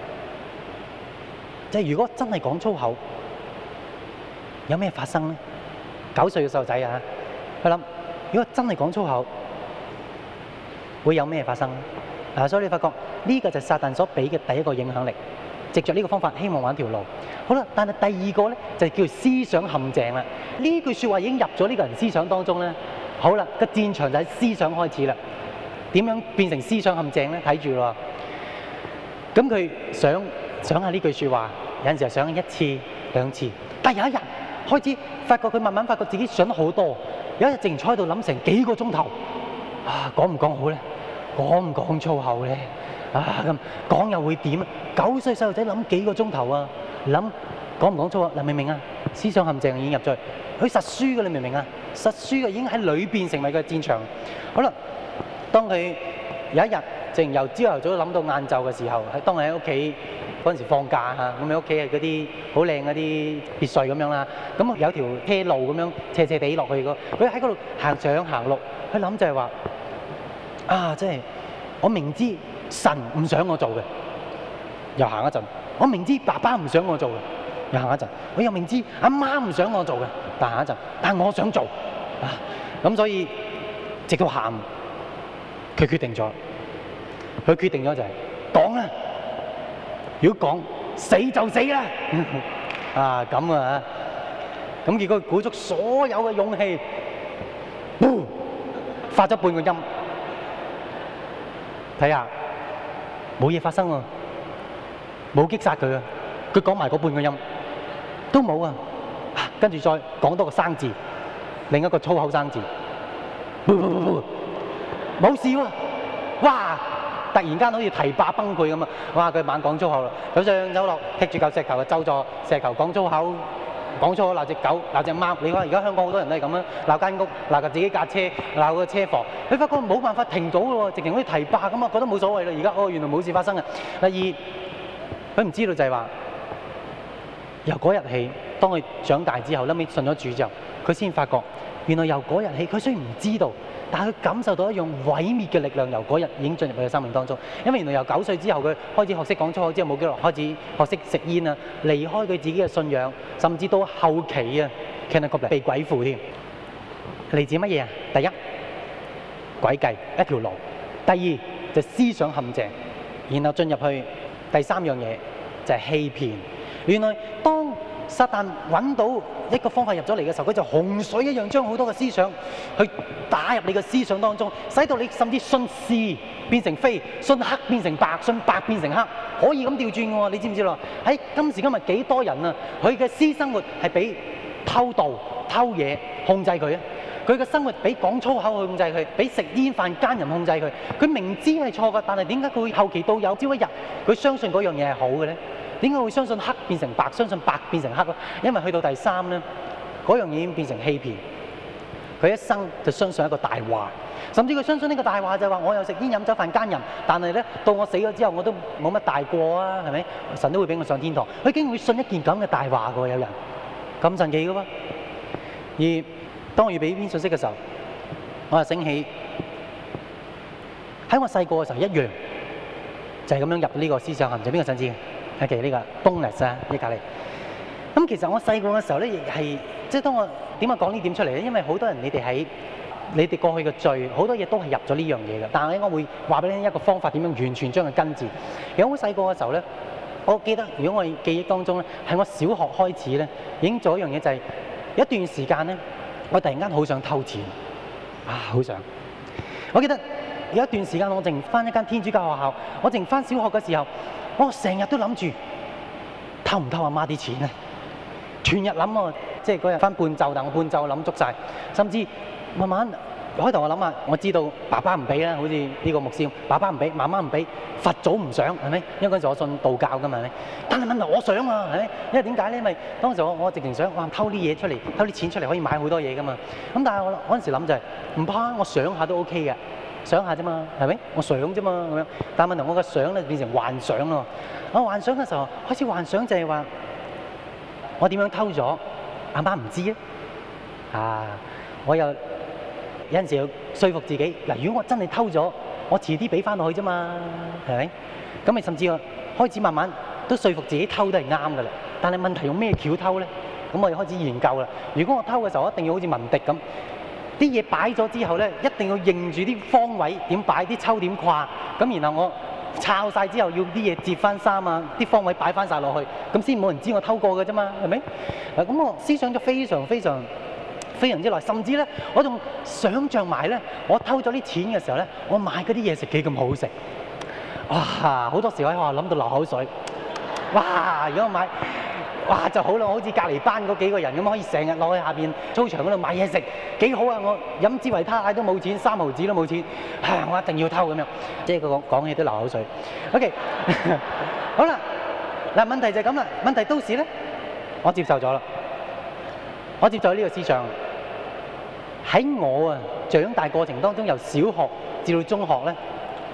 就係如果真係講粗口，有咩發生咧？9歲嘅細路仔啊，佢諗如果真係講粗口，會有咩發生咧？嗱，所以你發覺呢個就係撒旦所俾嘅第一個影響力，藉着呢個方法希望揾條路。好啦，但係第二個咧就叫思想陷阱啦。呢句説話已經入咗呢個人思想當中咧。好啦，個戰場就喺思想開始啦。點樣變成思想陷阱咧？睇住咯。咁佢想下呢句説話，有陣時候想1次2次，但係有一日開始發覺佢慢慢發覺自己想得好多。有一日淨坐喺度諗成幾個鐘頭，啊，講唔講好咧？講唔講粗口咧？啊，咁講又會點？9歲細路仔諗幾個鐘頭啊？諗講唔講粗口？嗱，明唔明啊？思想陷阱已經入咗去，佢實輸嘅，你明唔明啊？實輸嘅已經喺裏邊成為個戰場。好啦，當佢有一日，淨由朝頭早諗到晏晝嘅時候，當佢喺屋企嗰陣時放假嚇，咁喺屋企係嗰啲好靚嗰啲別墅咁樣啦，咁有條車路咁樣斜斜地落去個，佢喺嗰度行上行落，佢諗就係話啊，即係我明知神唔想我做嘅，又行一陣；我明知爸爸唔想我做嘅，又行一陣；我又明知阿媽唔想我做嘅，但行一陣，但我想做啊，咁所以直到喊，佢決定咗。佢決定咗就係講啦，如果講死就死啦，啊咁啊，咁結果佢鼓足所有嘅勇氣，發咗半個音， 睇下冇嘢發生喎，冇擊殺佢啊！佢講埋嗰半個音都冇啊！跟住再講多個生字，另一個粗口生字，冇事喎！哇！突然間好似堤壩崩潰咁啊！哇！佢猛講粗口啦，走上走落，踢住嚿石頭就咒咗石頭講粗口。講粗口鬧隻狗鬧隻貓，你話而家香港好多人都係咁啊！鬧間屋鬧自己架車鬧個車房，佢發覺冇辦法停到喎，直情好似堤壩咁啊！覺得冇所謂啦，而家原來冇事發生啊！第二，佢唔知道就係話由嗰日起，當佢長大之後，後尾信咗主之後，佢先發覺原來由嗰日起，佢雖然唔知道，但係佢感受到一樣毀滅嘅力量，由嗰日已經進入佢嘅生命當中。因為原來由9歲之後，佢開始學識講粗口之後，冇幾耐開始學識食煙啊，離開佢自己嘅信仰，甚至到後期啊，被鬼附添。嚟自乜嘢啊？第一，詭計一條路；第二就思想陷阱，然後進入去第三樣嘢就係欺騙。原來當撒旦揾到一個方法入咗嚟嘅時候，佢就洪水一樣將好多嘅思想去打入你嘅思想當中，使到你甚至信是變成非，信黑變成白，信白變成黑，可以咁調轉嘅喎。你知唔知咯？喺今時今日幾多人啊，佢嘅私生活係俾偷盜、偷嘢控制佢啊！佢嘅生活俾講粗口去控制佢，俾食煙飯奸淫控制佢。佢明知係錯嘅，但係點解佢會後期到有朝一日佢相信嗰樣嘢係好嘅咧？點解會相信黑變成白，相信白變成黑咧？因為去到第三咧，嗰樣嘢已經變成欺騙。佢一生就相信一個大話，甚至佢相信呢個大話就係話我又食煙飲酒飯奸淫，但係咧到我死咗之後我都冇乜大過啊，係咪？神都會俾我上天堂。佢竟然會信一件咁嘅大話嘅喎，有人咁神奇嘅喎。而當我預備呢篇信息嘅時候，我就醒起喺我細個嘅時候一樣，就係咁樣入呢個思想陷阱。邊個想知嘅？其實呢個 bonus 啊，呢隔離。咁其實我細個嘅時候咧，亦係即係當我點解講呢點出嚟咧？因為好多人你哋過去嘅罪，好多嘢都係入咗呢樣嘢嘅。但係我會話俾你聽一個方法，點樣完全將佢根治。其實我細個嘅時候咧，我記得如果我記憶當中咧，係我小學開始咧，已經做一樣嘢，就係有一段時間咧，我突然間好想偷錢好想。我記得有一段時間我淨返一間天主教學校，我淨返小學嘅時候，我成日都諗住偷唔偷阿媽啲錢啊！全日諗喎，即係嗰日返半晝，但我半晝諗足晒，甚至慢慢開頭我諗下，我知道爸爸唔俾啦，好似呢個牧師，爸爸唔俾，媽媽唔俾，佛祖唔想，係咪？因為嗰陣時我信道教㗎嘛，係咪？但係問題我想啊，係咪？因為點解咧？因為當時我直情想偷啲嘢出嚟，偷啲錢出嚟可以買好多嘢㗎嘛。咁但係我嗰陣時諗就係唔怕，我想下都 OK 嘅，想下啫嘛，係咪？我想啫嘛咁樣。但係問題我嘅想咧變成幻想咯。我幻想嘅時候開始幻想就係話。我點樣偷咗？阿媽唔知啊！我又有陣時要說服自己嗱，如果我真係偷咗，我遲啲俾翻落去啫嘛，係咪？咁咪甚至我開始慢慢都說服自己偷都係啱㗎啦。但係問題用咩橋偷咧？咁我就開始研究啦。如果我偷嘅時候，我一定要好似文迪咁，啲嘢擺咗之後咧，一定要認住啲方位點擺，啲抽點跨，咁然後我。抄晒之後要啲嘢摺翻衫啊，啲方位擺翻晒落去，咁先冇人知我偷過嘅啫嘛，係咪？咁我思想咗非常之耐，甚至咧我仲想像埋咧，我偷咗啲錢嘅時候咧，我買嗰啲嘢食幾咁好食，哇！好多時我喺學校諗到流口水，哇！如果我買，哇就好啦，我好似隔離班嗰幾個人咁，可以成日落去下邊操場嗰度買嘢食，幾好啊！我飲支維他奶都冇錢，3毫子都冇錢，我一定要偷咁樣，即係佢講嘢都流口水。OK， 好啦，嗱問題就係咁啦。問題到時咧，我接受咗啦，我接受呢個思想。喺我長大過程當中，由小學至到中學咧，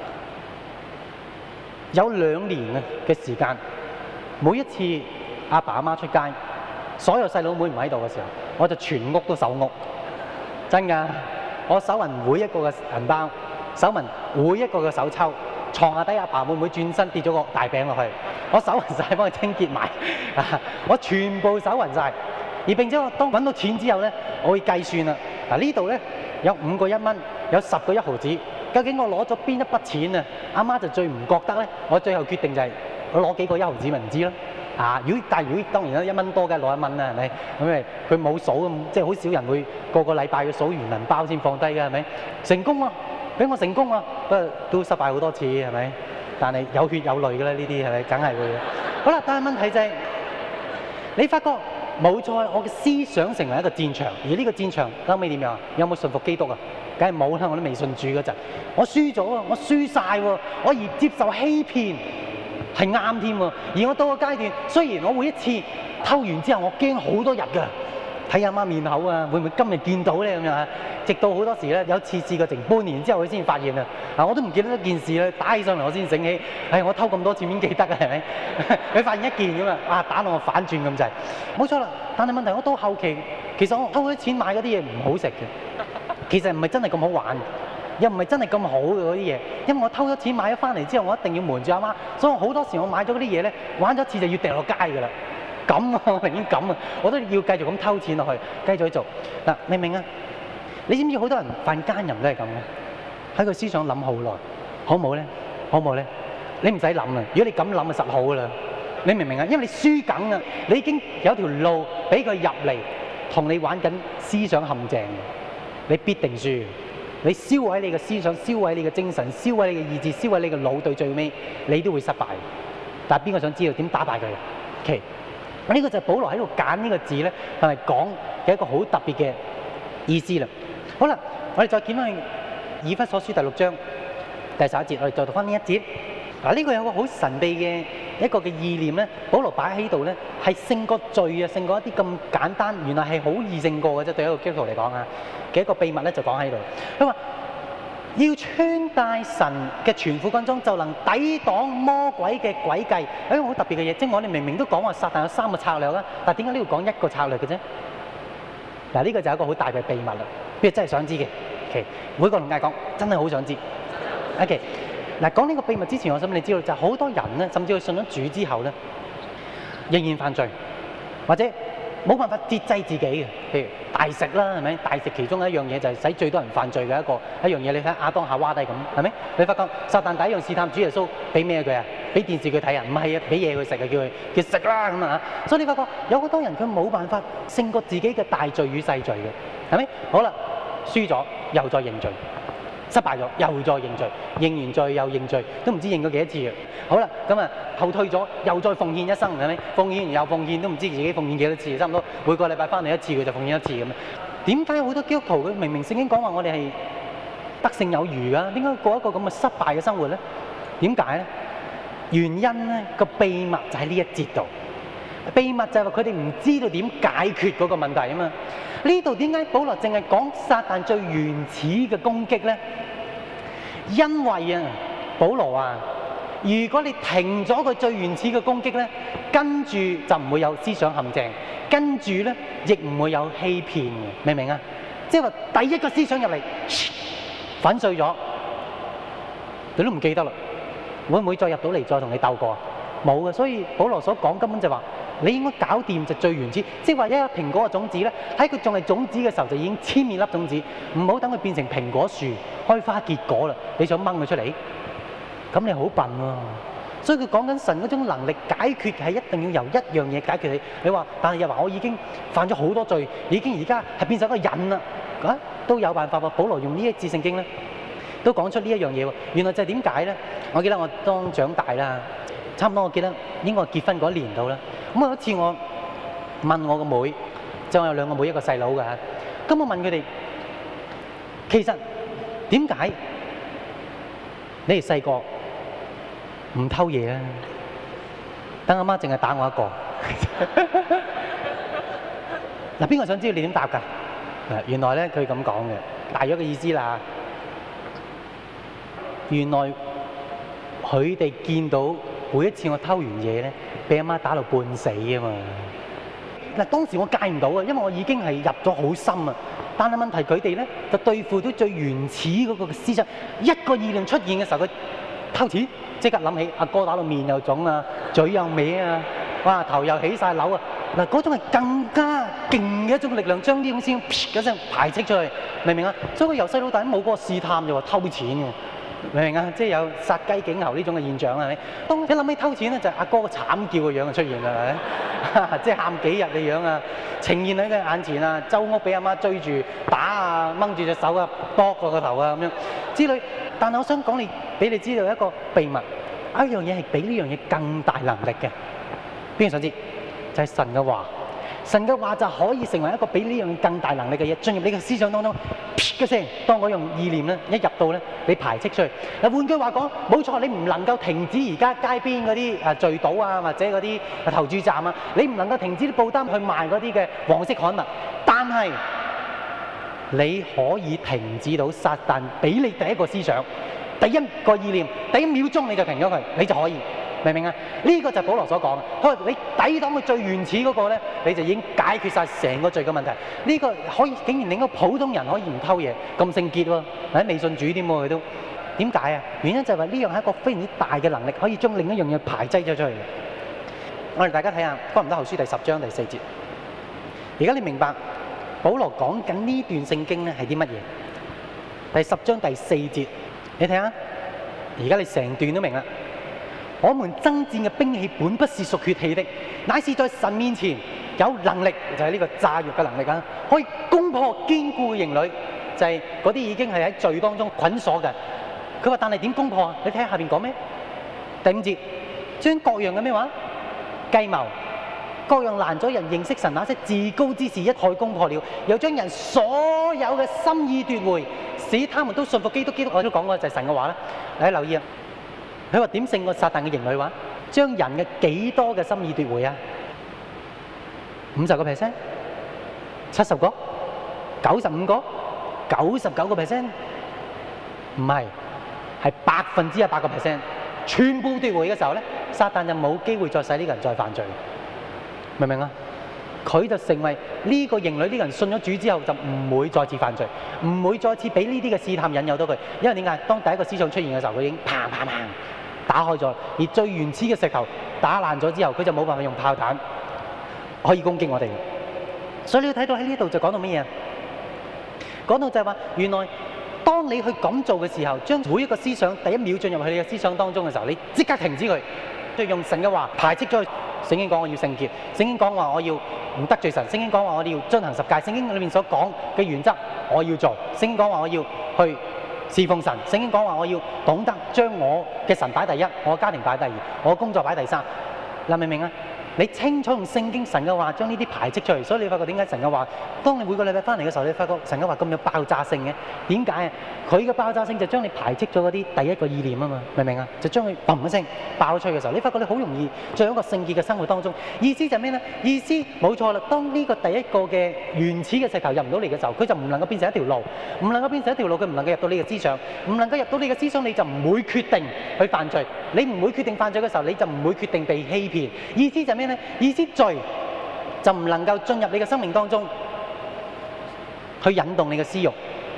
有2年嘅時間，每一次阿爸阿媽出街，所有細佬妹唔喺度嘅時候，我就全屋都搜屋，真㗎！我搜勻每一個嘅銀包，搜勻每一個嘅手抽，床下底阿爸會唔會轉身跌咗個大餅落去？我搜勻曬，幫佢清潔埋，我全部搜勻曬。而並且我當揾到錢之後咧，我會計算啦。嗱呢度咧有5個1蚊，有10個1毫子，究竟我攞咗邊一筆錢啊？阿媽就最唔覺得咧，我最後決定就係我攞幾個1毫子咪唔知咯。如果當然啦，1蚊多嘅攞1蚊啦，係咪？咁咪佢冇數咁，即係好少人會個禮拜要數完銀包先放低嘅，係咪？成功喎！ 俾我成功啊！不過都失敗好多次，係咪？但係有血有淚嘅啦，呢啲係咪？梗係會嘅。好啦，但係問題就係、你發覺冇錯，我嘅思想成為一個戰場，而呢個戰場後尾點樣？有冇信服基督啊？梗係冇啦！我都未信主嗰陣，我輸咗啊！我輸晒喎！我而接受欺騙係啱添喎。而我到個階段，雖然我每一次偷完之後，我驚好多日㗎。睇阿媽面口啊，會唔會今日見到咧咁樣啊？直到好多時咧，有一次試過成半年之後，佢先發現啊！我都唔記得一件事咧，打起上嚟我先醒起，我偷咁多次邊記得啊？係咪？佢發現一件咁啊，打到我反轉咁滯，冇錯啦。但係問題我到後期，其實我偷咗錢買嗰啲嘢唔好食嘅，其實唔係真係咁好玩，又唔係真係咁好嘅嗰啲嘢，因為我偷咗錢買咗翻嚟之後，我一定要瞞住阿媽，所以好多時我買咗嗰啲嘢咧，玩咗一次就要掉落街㗎啦。咁啊，我寧願咁啊，我都要繼續咁偷錢落去，繼續去做嗱，明唔明啊？你知唔知好多人犯奸淫都係咁嘅？喺個思想諗好耐，好唔好咧？好唔好咧？你唔使諗啦，如果你咁諗就實好噶啦。你明唔明啊？因為你輸緊啊，你已經有條路俾佢入嚟，同你玩緊思想陷阱，你必定輸。你燒毀你嘅思想，燒毀你嘅精神，燒毀你嘅意志，燒毀你嘅腦，對最尾你都會失敗。但係邊個想知道點打敗佢？OK。呢個就係保羅喺度揀呢個字咧，係咪講嘅一個好特別嘅意思啦？好啦，我哋再見翻去以弗所書第6章第11節，我哋再讀翻呢一節。嗱，呢個有個好神秘嘅一個嘅意念咧，保羅擺喺度咧，係勝過罪啊，勝過一啲咁簡單，原來係好易勝過嘅啫。對一個基督徒嚟講啊，嘅一個秘密咧就講喺度。佢話要穿戴神嘅全副軍裝，就能抵擋魔鬼嘅詭計。一個好特別嘅嘢，即係我哋明明都講話撒旦有3個策略啦，但係點解呢度講1個策略嘅啫？嗱，呢個就係一個好大嘅秘密啦。邊個真係想知嘅？OK，每個同嗌講，真係好想知。OK，嗱，講呢個秘密之前，我想你知道就係好多人咧，甚至佢信咗主之後咧，仍然犯罪，或者冇辦法節制自己嘅，譬如大食啦，係咪？大食其中一樣嘢就係使最多人犯罪嘅一樣嘢。你睇亞當夏娃都係咁，係咪？你發覺撒旦第一樣試探主耶穌，俾咩佢啊？俾電視佢睇啊？唔係啊，俾嘢佢食啊，叫佢食啦咁啊！所以你發覺有好多人佢冇辦法勝過自己嘅大罪與細罪嘅，係咪？好啦，輸咗又再認罪。失敗咗，又再認罪，認完罪又認罪，都唔知認過幾多次嘅。好啦，咁啊後退咗，又再奉獻一生，係咪？奉獻完又奉獻，都唔知自己奉獻幾多次，差唔多每個禮拜翻嚟一次，佢就奉獻一次咁。點解好多基督徒佢明明聖經講話我哋係得勝有餘啊？點解過一個咁嘅失敗嘅生活咧？點解咧？原因咧個秘密就喺呢一節度。秘密就係話佢哋唔知道點解決嗰個問題啊嘛。呢度點解保羅淨係講撒旦最原始嘅攻擊咧？因為啊，保羅啊，如果你停咗佢最原始嘅攻擊咧，跟住就唔會有思想陷阱，跟住咧亦唔會有欺騙嘅，明唔明啊？即係話第一個思想入嚟，粉碎咗，你都唔記得啦。會唔會再入到嚟再同你鬥過啊？冇嘅，所以保羅所講根本就話。你應該搞掂就最原始，即係話一粒蘋果嘅種子咧，喺佢仲係種子嘅時候就已經殲滅粒種子，唔好等佢變成蘋果樹開花結果啦。你想掹佢出嚟，咁你好笨喎。所以佢講緊神嗰種能力解決係一定要由一樣嘢解決你。你話，但係又話我已經犯咗好多罪，已經而家係變成一個癮啦，都有辦法喎。保羅用呢一節聖經咧，都講出呢一樣嘢喎。原來就係點解咧？我記得我當長大啦。差唔多，我記得應該結婚嗰一年度啦。咁有一次我問我個妹，即係我有2個妹，一個細佬㗎。咁我問佢哋，其實點解你哋細個唔偷嘢啊？等阿媽淨係打我一個。嗱，邊個想知道你點答㗎？原來咧佢咁講嘅，大約嘅意思啦。原來佢哋見到。每一次我偷完嘢咧，俾阿媽打到半死啊嘛！嗱，當時我戒唔到啊，因為我已經係入咗好深啊。但係問題佢哋咧就對付到最原始嗰個思想，一個意念出現嘅時候，佢偷錢，即刻諗起阿哥打到面又腫啊，嘴又歪啊，哇頭又起晒瘤啊！嗱，嗰種係更加勁嘅一種力量，將呢種先一聲排斥出去，明唔明啊？所以佢由細到大都冇嗰個試探就話偷錢嘅。 明唔明啊？即係有殺雞儆猴呢種嘅現象係咪？當一諗起偷錢咧，就係阿哥個慘叫嘅樣就出現啦，係咪？即係喊幾日嘅樣啊，呈現喺佢眼前啊，周屋俾阿媽追住打啊，掹住隻手啊，剁過個頭啊咁樣之類。但係我想講你俾你知道一個秘密，有一樣嘢係比呢樣嘢更大能力嘅。邊個想知？就係神嘅話。神嘅話就可以成為一個比呢樣更大能力嘅嘢，進入你嘅思想當中，噗嘅聲，當嗰樣意念咧一入到咧，你排斥出去。嗱，換句話講，冇錯，你唔能夠停止而家街邊嗰啲聚賭啊，或者嗰啲投注站啊，你唔能夠停止啲報單去賣嗰啲嘅黃色刊物，但係你可以停止到撒旦俾你第一個思想、第一個意念、第一秒鐘你就停咗佢，你就可以。明唔明啊？呢個就係保羅所講嘅。佢話你抵擋佢最原始嗰個咧，你就已經解決晒成個罪嘅問題。呢個可以竟然令到普通人可以唔偷嘢，咁聖潔喎，喺未信主添喎佢都。點解啊？原因就係話呢樣係一個非常之大嘅能力，可以將另一樣嘢排擠咗出去。我哋大家睇下《哥林多後書》第10章第4節。而家你明白保羅講緊呢段聖經咧係啲乜嘢？第10章第4節，你睇下。而家你成段都明啦。我們爭戰嘅兵器本不是屬血氣的，乃是在神面前有能力，就係呢個炸藥嘅能力啊！可以攻破堅固嘅營壘，就係嗰啲已經係喺罪當中捆鎖嘅。佢話：但係點攻破啊？你睇下下邊講咩？第5節，將各樣嘅咩話計謀，各樣攔阻人認識神那些自高之事一概攻破了，又將人所有嘅心意奪回，使他們都信服基督。基督我都講過就係神嘅話啦。大家留意啊！佢話點勝過撒旦嘅營壘話？將人嘅幾多嘅心意奪回啊？50%、70個、95個、99%，唔係，係100%，全部奪回嘅時候咧，撒旦就冇機會再使呢個人再犯罪，明唔明啊？佢就成為呢個營壘，呢個人信咗主之後就唔會再次犯罪，唔會再次俾呢啲嘅試探引誘到佢。因為點解？當第一個思想出現嘅時候，佢已經砰砰砰打開咗，而最原始嘅石頭打爛咗之後，佢就冇辦法用炮彈可以攻擊我哋。所以你要睇到喺呢度就講到乜嘢？講到就係話，原來當你去咁做嘅時候，將每一個思想第一秒進入去你嘅思想當中嘅時候，你即刻停止佢，就用神嘅話排斥咗佢。聖經講我要聖潔，聖經講話我要唔得罪神，聖經講話我哋要遵行10誡，聖經裏面所講嘅原則我要做，聖經講話我要去侍奉神，聖經講話我要懂得將我嘅神擺第一，我嘅家庭擺第二，我嘅工作擺第三。嗱，明唔明啊？你清楚用聖經神嘅話將呢啲排斥出嚟，所以你發覺點解神嘅話，當你每個禮拜翻嚟嘅時候，你發覺神嘅話咁有爆炸性嘅？點解啊？佢嘅爆炸性就將你排斥咗嗰啲第一個意念啊嘛，明唔明啊？就將佢砰一聲爆出去嘅時候，你發覺你好容易進入一個聖潔嘅生活當中。意思就係咩咧？意思冇錯啦。當呢個第一個嘅原始嘅石頭入唔到嚟嘅時候，佢就唔能夠變成一條路，唔能夠變成一條路，佢唔能夠入到你嘅思想，唔能夠入到你嘅思想，你就唔會決定去犯罪。你唔會決定犯罪嘅時候，你就唔會決定被欺騙。意思就係咩咧？意思罪就唔能夠進入你嘅生命當中，去引動你嘅私慾，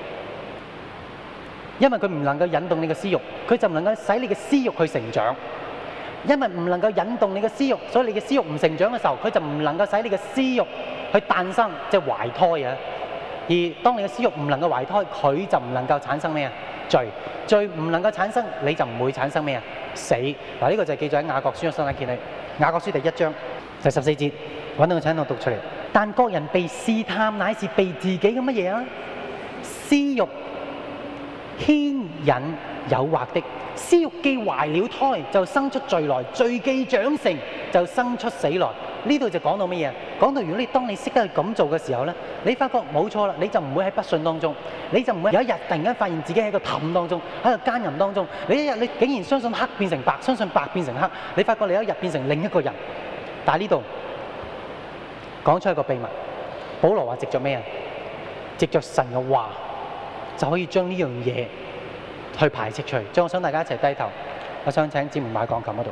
因為佢唔能夠引動你嘅私慾，佢就唔能夠使你嘅私慾去成長。因為唔能夠引動你嘅私慾，所以你嘅私慾唔成長嘅時候，佢就唔能夠使你嘅私慾去誕生，即係懷胎啊。而當你嘅私慾唔能夠懷胎，佢就唔能夠產生咩啊？罪，罪唔能夠產生，你就唔會產生咩啊？死。嗱，呢個就係記載喺雅各書嘅新約見你，雅各書第1章第14節，揾到個請我讀出嚟。但各人被試探，乃是被自己嘅乜嘢啊？私慾牽引誘惑的。私慾既懷了胎，就生出罪來；罪既長成，就生出死來。呢度就講到乜嘢？講到如果你當你識得去咁做嘅時候咧，你發覺冇錯啦，你就唔會喺不信當中，你就唔會有一日突然間發現自己喺個氹當中，喺個奸淫當中。你一日你竟然相信黑變成白，相信白變成黑，你發覺你有一日變成另一個人。但係呢度講出一個秘密，保羅話藉着咩啊？藉着神嘅話就可以將呢樣嘢去排斥出去。所以我想大家一齊低頭，我想請姊妹買鋼琴嗰度。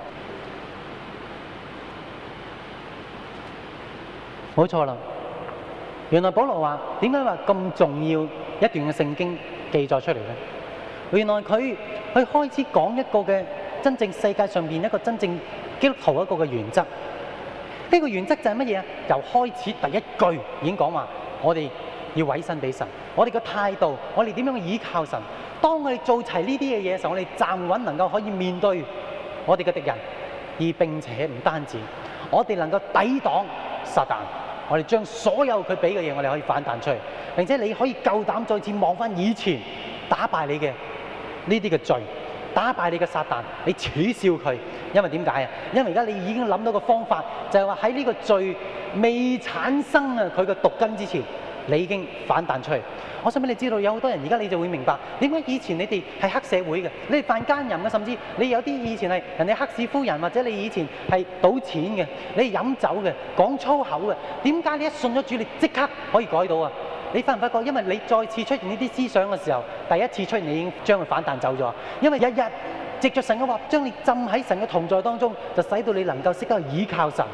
冇錯啦，原來保羅話點解話咁重要一段嘅聖經記載出嚟咧？原來佢開始講一個嘅真正世界上邊一個真正基督徒一個嘅原則。呢個原則就係乜嘢啊？由開始第一句已經講話，我哋要委身俾神，我哋嘅態度，我哋點樣去依靠神， 當我哋做齊呢啲嘅嘢嘅時候，我哋站穩能夠可以面對我哋嘅敵人，而並且唔單止，我哋能夠抵擋撒旦。我哋將所有佢俾嘅嘢，我哋可以反彈出嚟，並且你可以夠膽再次望翻以前打敗你嘅呢啲嘅罪，打敗你嘅撒旦，你恥笑佢。因為點解啊？因為而家你已經諗到個方法，就係話喺呢個罪未產生啊佢嘅毒根之前，你已經反彈出嚟。我想俾你知道，有好多人而家你就會明白點解以前你哋係黑社會嘅，你哋犯奸淫嘅，甚至你有啲以前係人哋黑市夫人，或者你以前係賭錢嘅，你係飲酒嘅，講粗口嘅，點解你一信咗主，你即刻可以改到啊？你發唔發覺？因為你再次出現呢啲思想嘅時候，第一次出現你已經將佢反彈走咗。因為日日藉着神嘅話，將你浸喺神嘅同在當中，就使到你能夠識得去倚靠神，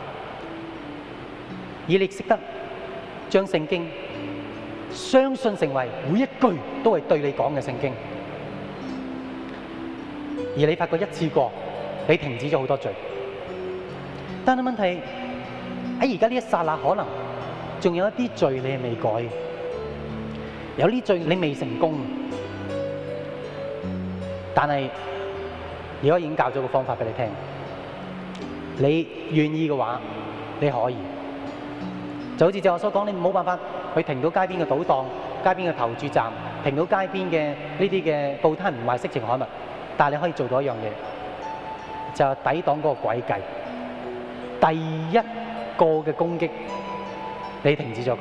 而你識得將聖經相信成為每一句都係對你講嘅聖經，而你發覺一次過你停止咗好多罪。但係問題喺而家呢一剎那，可能仲有一啲罪你係未改，有啲罪你未成功，但係而家已經教咗個方法俾你聽，你願意嘅話你可以。就好似正我所講，你冇辦法去停到街邊嘅賭檔、街邊嘅投注站、停到街邊嘅呢啲嘅報攤唔賣色情刊物，但係你可以做到一樣嘢，就係抵擋嗰個詭計。第一個嘅攻擊，你停止咗佢，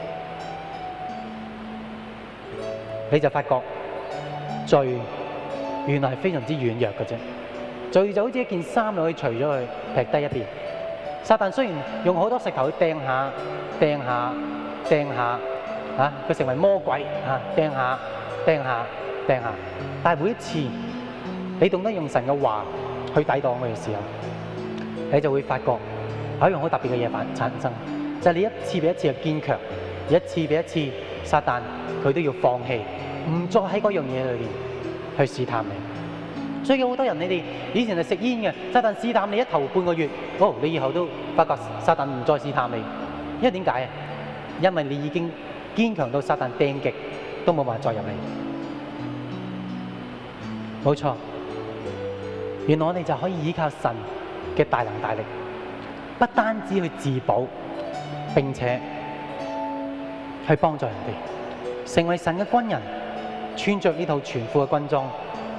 你就發覺罪原來係非常之軟弱嘅啫。罪就好似一件衫，你可以除咗佢，劈低一邊。撒旦雖然用好多石頭去掟下、掟下、掟下，佢成為魔鬼掟下、掟下、掟下，但係每一次你懂得用神嘅話去抵擋佢嘅時候，你就會發覺有一樣好特別嘅嘢產生，就係你一次比一次嘅堅強，一次比一次撒旦佢都要放棄，唔再喺嗰樣嘢裏邊去試探你。所以有好多人，你哋以前係食煙嘅，撒旦試探你一頭半個月，你以後都發覺撒旦唔再試探你，因為點解啊？因為你已經堅強到撒旦掟極都冇辦法再入嚟。冇錯，原來我哋就可以依靠神嘅大能大力，不單止去自保，並且去幫助人哋，成為神嘅軍人，穿着呢套全副嘅軍裝，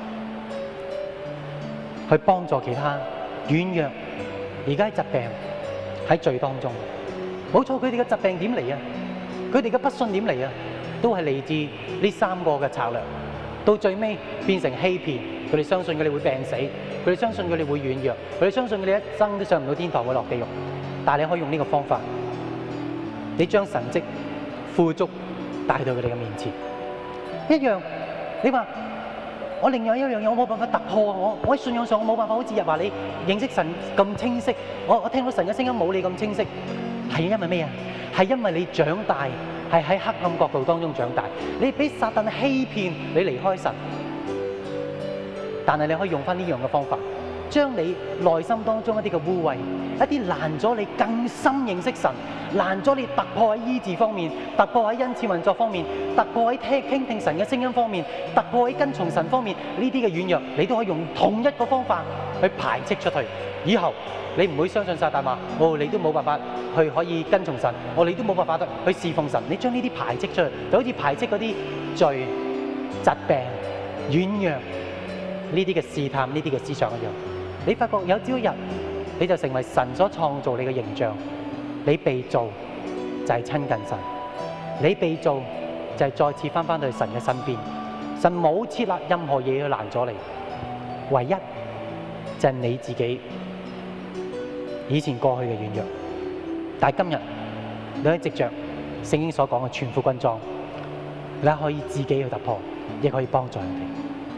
去幫助其他軟弱，而家喺疾病喺罪當中。冇錯，佢哋嘅疾病點嚟啊？佢哋嘅不信點嚟啊？都係嚟自呢三個嘅策略，到最尾變成欺騙。佢哋相信佢哋會病死，佢哋相信佢哋會軟弱，佢哋相信佢哋一生都上唔到天堂，會落地獄。但係你可以用呢個方法，你將神蹟富足帶到佢哋嘅面前。一樣，你話我另外一樣嘢，我冇辦法突破啊！我喺信仰上我冇辦法好似日話你認識神咁清晰，我聽到神嘅聲音冇你咁清晰，係因為咩啊？係因為你長大係喺黑暗國度當中長大，你俾撒旦欺騙，你離開神。但係你可以用翻呢樣嘅方法，將你內心當中一啲嘅污穢，一啲攔咗你更深認識神，攔咗你突破喺醫治方面，突破喺恩賜運作方面，突破喺傾聽神嘅聲音方面，突破喺跟從神方面，呢啲嘅軟弱，你都可以用同一個方法去排斥出去。以後你唔會相信撒旦話，你都冇辦法去可以跟從神，你都冇辦法去侍奉神。你將呢啲排斥出去，就好似排斥嗰啲罪、疾病、軟弱呢啲嘅試探、呢啲嘅思想一樣。你發覺有朝一日，你就成為神所創造你嘅形象。你被造就係親近神，你被造就係再次翻返去神嘅身邊。神冇設立任何嘢去攔咗你，唯一就係你自己以前過去嘅軟弱。但係今日你可以藉着聖經所講嘅全副軍裝，你可以自己去突破，亦可以幫助人哋。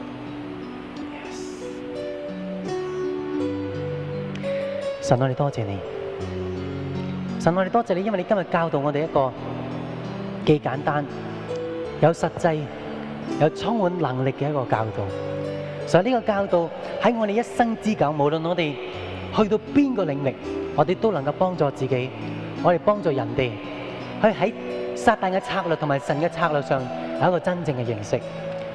神，我哋多謝你。神，我哋多謝你，因為你今日教導我哋一個既簡單、有實際、有充滿能力嘅一個教導。所以呢個教導喺我哋一生之久，無論我哋去到邊個領域，我哋都能夠幫助自己，我哋幫助人哋，去喺撒旦嘅策略同埋神嘅策略上有一個真正嘅認識。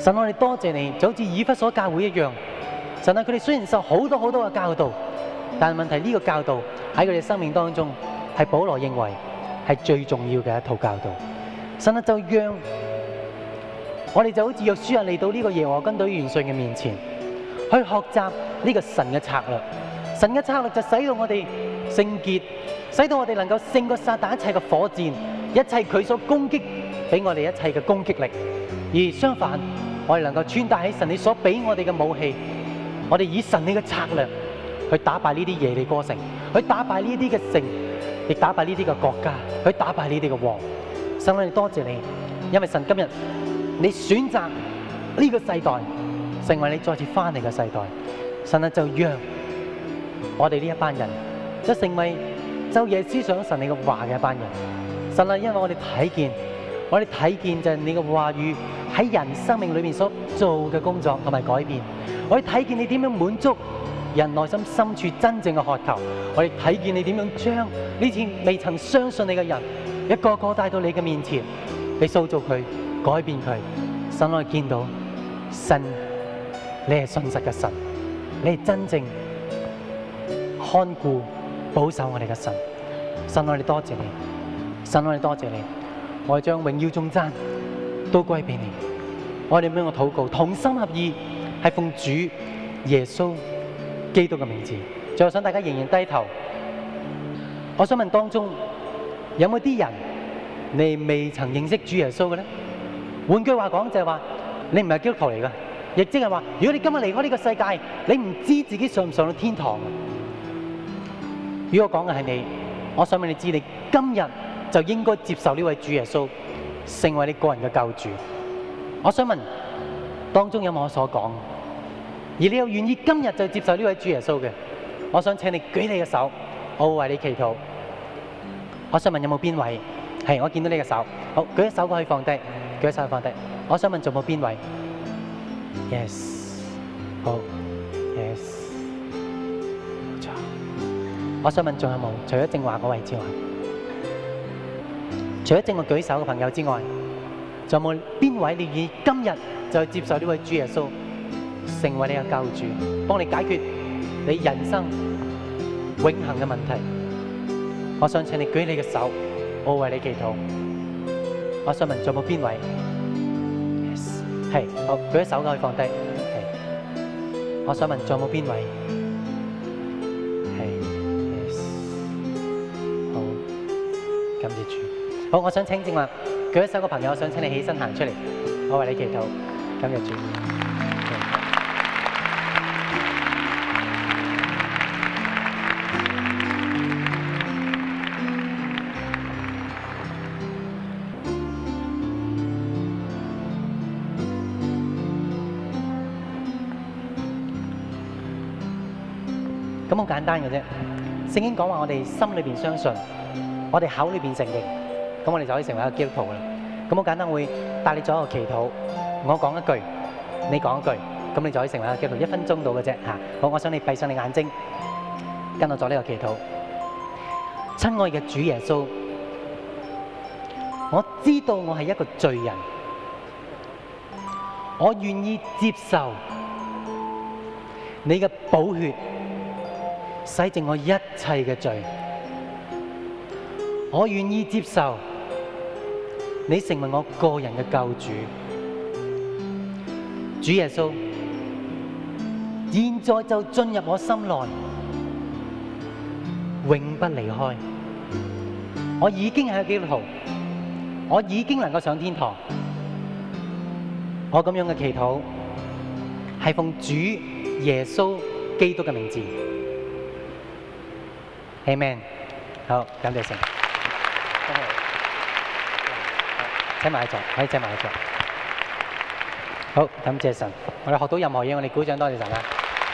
神，我哋多謝你，就好似以弗所教會一樣。神啊，佢哋雖然受好多嘅教導，但係問題呢個教導喺佢哋生命當中係保羅認為係最重要嘅一套教導。神啊，就讓我哋就好似約書亞嚟到呢個耶和華軍隊元帥嘅面前，去學習呢個神嘅策略。神嘅策略就使到我哋聖潔，使到我哋能夠勝過撒旦一切嘅火箭，一切佢所攻擊俾我哋一切嘅攻擊力。而相反，我哋能夠穿戴起神你所俾我哋嘅武器，我哋以神你嘅策略去打敗呢啲耶利哥城，去打敗呢啲嘅城，亦打敗呢啲嘅國家，去打敗呢啲嘅王。神，我哋多謝你，因為神今日你選擇呢個世代成為你再次翻嚟嘅世代。神啊，就讓我哋呢一班人就成為晝夜思想神你嘅話嘅一班人。神啊，因為我哋睇見就係你嘅話語喺人生命裏面所做嘅工作同埋改變。我哋睇見你點樣滿足人內心深處真正嘅渴求。我哋睇見你點樣將呢次未曾相信你嘅人一個個帶到你嘅面前，你塑造佢，改變佢。神，我哋見到神，你係信實嘅神，你係真正看顧保守我哋嘅神。神，我哋多謝你，神，我哋多謝你，我哋將榮耀頌讚都歸俾你。我哋咁樣嘅禱告，同心合意，係奉主耶穌基督嘅名字。最後想大家仍然低頭，我想問當中有冇啲人你未曾認識主耶穌嘅咧？換句話講就係話，你唔係基督徒嚟㗎，亦即係話，如果你今日離開呢個世界，你唔知自己上唔上到天堂。如果我講嘅係你，我想問你知，你今日就應該接受呢位主耶穌，成為你個人嘅救主。我想問當中有冇我所講？而你又願意今日就接受呢位主耶穌嘅？我想請你舉你嘅手，我會為你祈禱。我想問有冇邊位？係，我見到你嘅手，好，舉一手可以放低，舉一手放低。我想問仲有冇邊位 ？Yes， 好 ，Yes， 冇錯。我想問仲有冇？除咗正話嗰位之外，除咗正我舉手嘅朋友之外，仲有冇邊位你願意今日就接受呢位主耶穌，成為你嘅救主，幫你解決你人生永恆嘅問題？我想請你舉你嘅手，我會為你祈禱。我想問仲有冇邊位 ？Yes， 係，好，舉手可以放低。係，我想問仲有冇邊位？係 ，Yes， 好，感謝主。好，我想請正話舉一手嘅朋友，我想請你起身行出嚟，我為你祈禱。感謝主。咁好簡單嘅啫。聖經講話我哋心裏邊相信，我哋口裏邊承認，咁我哋就可以成為一個基督徒啦。咁好簡單，會帶你做一個祈禱，我講一句，你講一句，咁你就可以成為一個基督徒。1分鐘到嘅啫嚇。好，我想你閉上你眼睛，跟我做呢個祈禱。親愛嘅主耶穌，我知道我係一個罪人，我願意接受你嘅寶血洗淨我一切嘅罪，我願意接受你成為我個人嘅救主。主耶穌，現在就進入我心內，永不離開。我已經係個基督徒，我已經能夠上天堂。我咁樣嘅祈禱係奉主耶穌基督嘅名字。Amen。好，感謝神。請埋一座，可以請埋一座。好，感謝神。我哋學到任何嘢，我哋鼓掌，多謝神啊！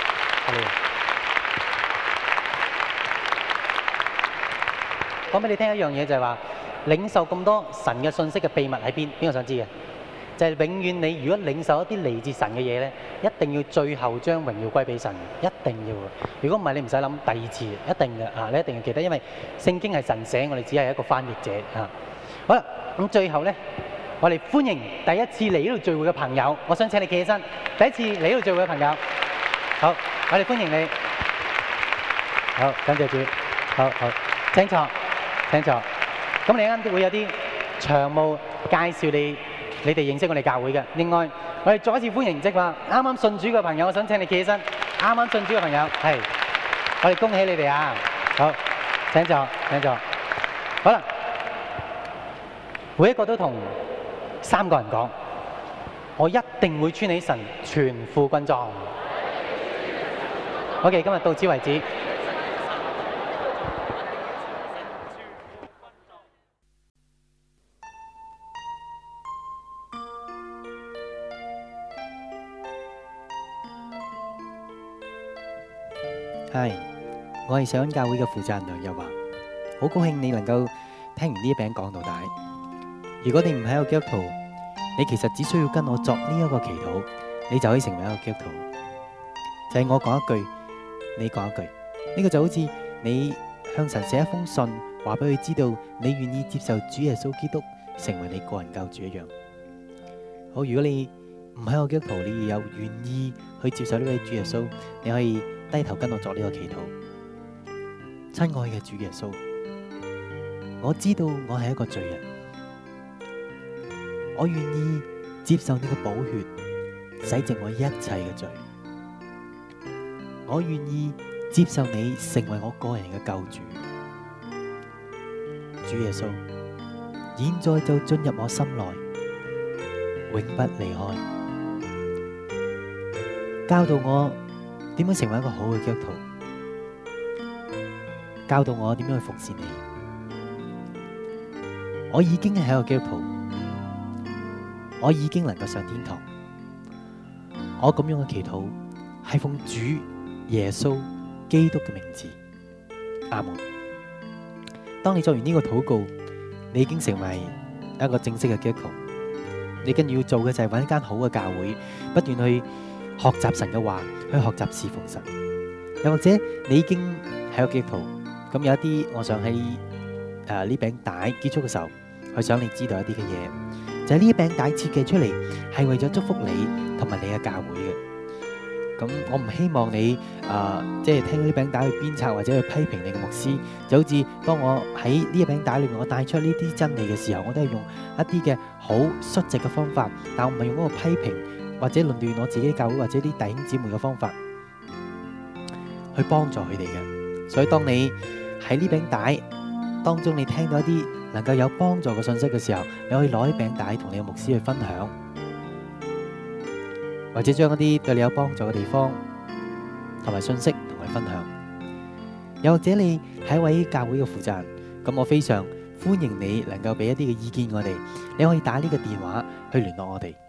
講俾你聽一樣嘢，就係話領受咁多神嘅信息嘅秘密喺邊？邊個想知嘅？就係永遠你如果領受一啲嚟自神嘅嘢咧，一定要最後將榮耀歸俾神，一定要嘅。如果唔係，你唔使諗第二次，一定嘅啊！你一定要記得，因為聖經係神寫，我哋只係一個翻譯者啊。好啦，咁最後咧， 我哋歡迎第一次嚟呢度聚會嘅朋友，我想請你企起身。第一次嚟呢度聚會嘅朋友，好，我哋歡迎你。好，感謝主。好，請坐，請坐。咁你啱啱會有啲長務介紹你哋認識我哋教會嘅。另外，我哋再一次歡迎即係話啱啱信主嘅朋友，我想請你企起身。啱啱信主嘅朋友，係，我哋恭喜你哋啊！好，請坐，請坐。好啦，每一個都同3個人講，我一定會穿起神全副軍裝。OK，今日到此為止。 係，我係上恩教會嘅負責人梁日華，好高興你能夠聽完呢一餅講到底。如果你唔係一個基督徒，你其實只需要跟我作呢一個祈禱，你就可以成為一個基督徒。就係我講一句，你講一句，呢個就好似你向神寫一封信，話俾佢知道你願意接受主耶穌基督成為你個人救主一樣。好，如果你唔係一個基督徒，你有願意去接受呢位主耶穌，你可以低頭跟我作呢個祈禱。親愛嘅主耶穌，我知道我係一個罪人，我願意接受你嘅寶血洗淨我一切嘅罪，我願意接受你成為我個人嘅救主。主耶穌，現在就進入我心內，永不離開，教導我點樣成為一個好嘅基督徒，教導我點樣去服侍你。我已經係一個基督徒，我已經能夠上天堂。我咁樣嘅祈禱係奉主耶穌基督嘅名字，阿門。當你做完呢個禱告，你已經成為一個正式嘅基督徒。你跟住要做嘅就係揾一間好嘅教會，不斷去學習神嘅話，去學習侍奉神。又或者你已經係個基督徒，咁有一啲，我想喺呢餅帶結束嘅時候，去想你知道一啲嘅嘢，就係呢一餅帶設計出嚟係為咗祝福你同埋你嘅教會嘅。咁我唔希望你即係聽到呢餅帶去鞭策或者去批評你嘅牧師，就好似當我喺呢一餅帶裏面我帶出呢啲真理嘅時候，我都係用一啲嘅好率直嘅方法，但我唔係用嗰個批評或者論斷我自己教會或者啲弟兄姊妹嘅方法去幫助佢哋嘅。所以當你喺呢餅帶當中你聽到一啲能夠有幫助嘅信息嘅時候，你可以攞呢餅帶同你嘅牧師去分享，或者將一啲對你有幫助嘅地方同埋信息同佢分享。又或者你係一位教會嘅負責人，咁我非常歡迎你能夠俾一啲嘅意見我哋，你可以打呢個電話去聯絡我哋。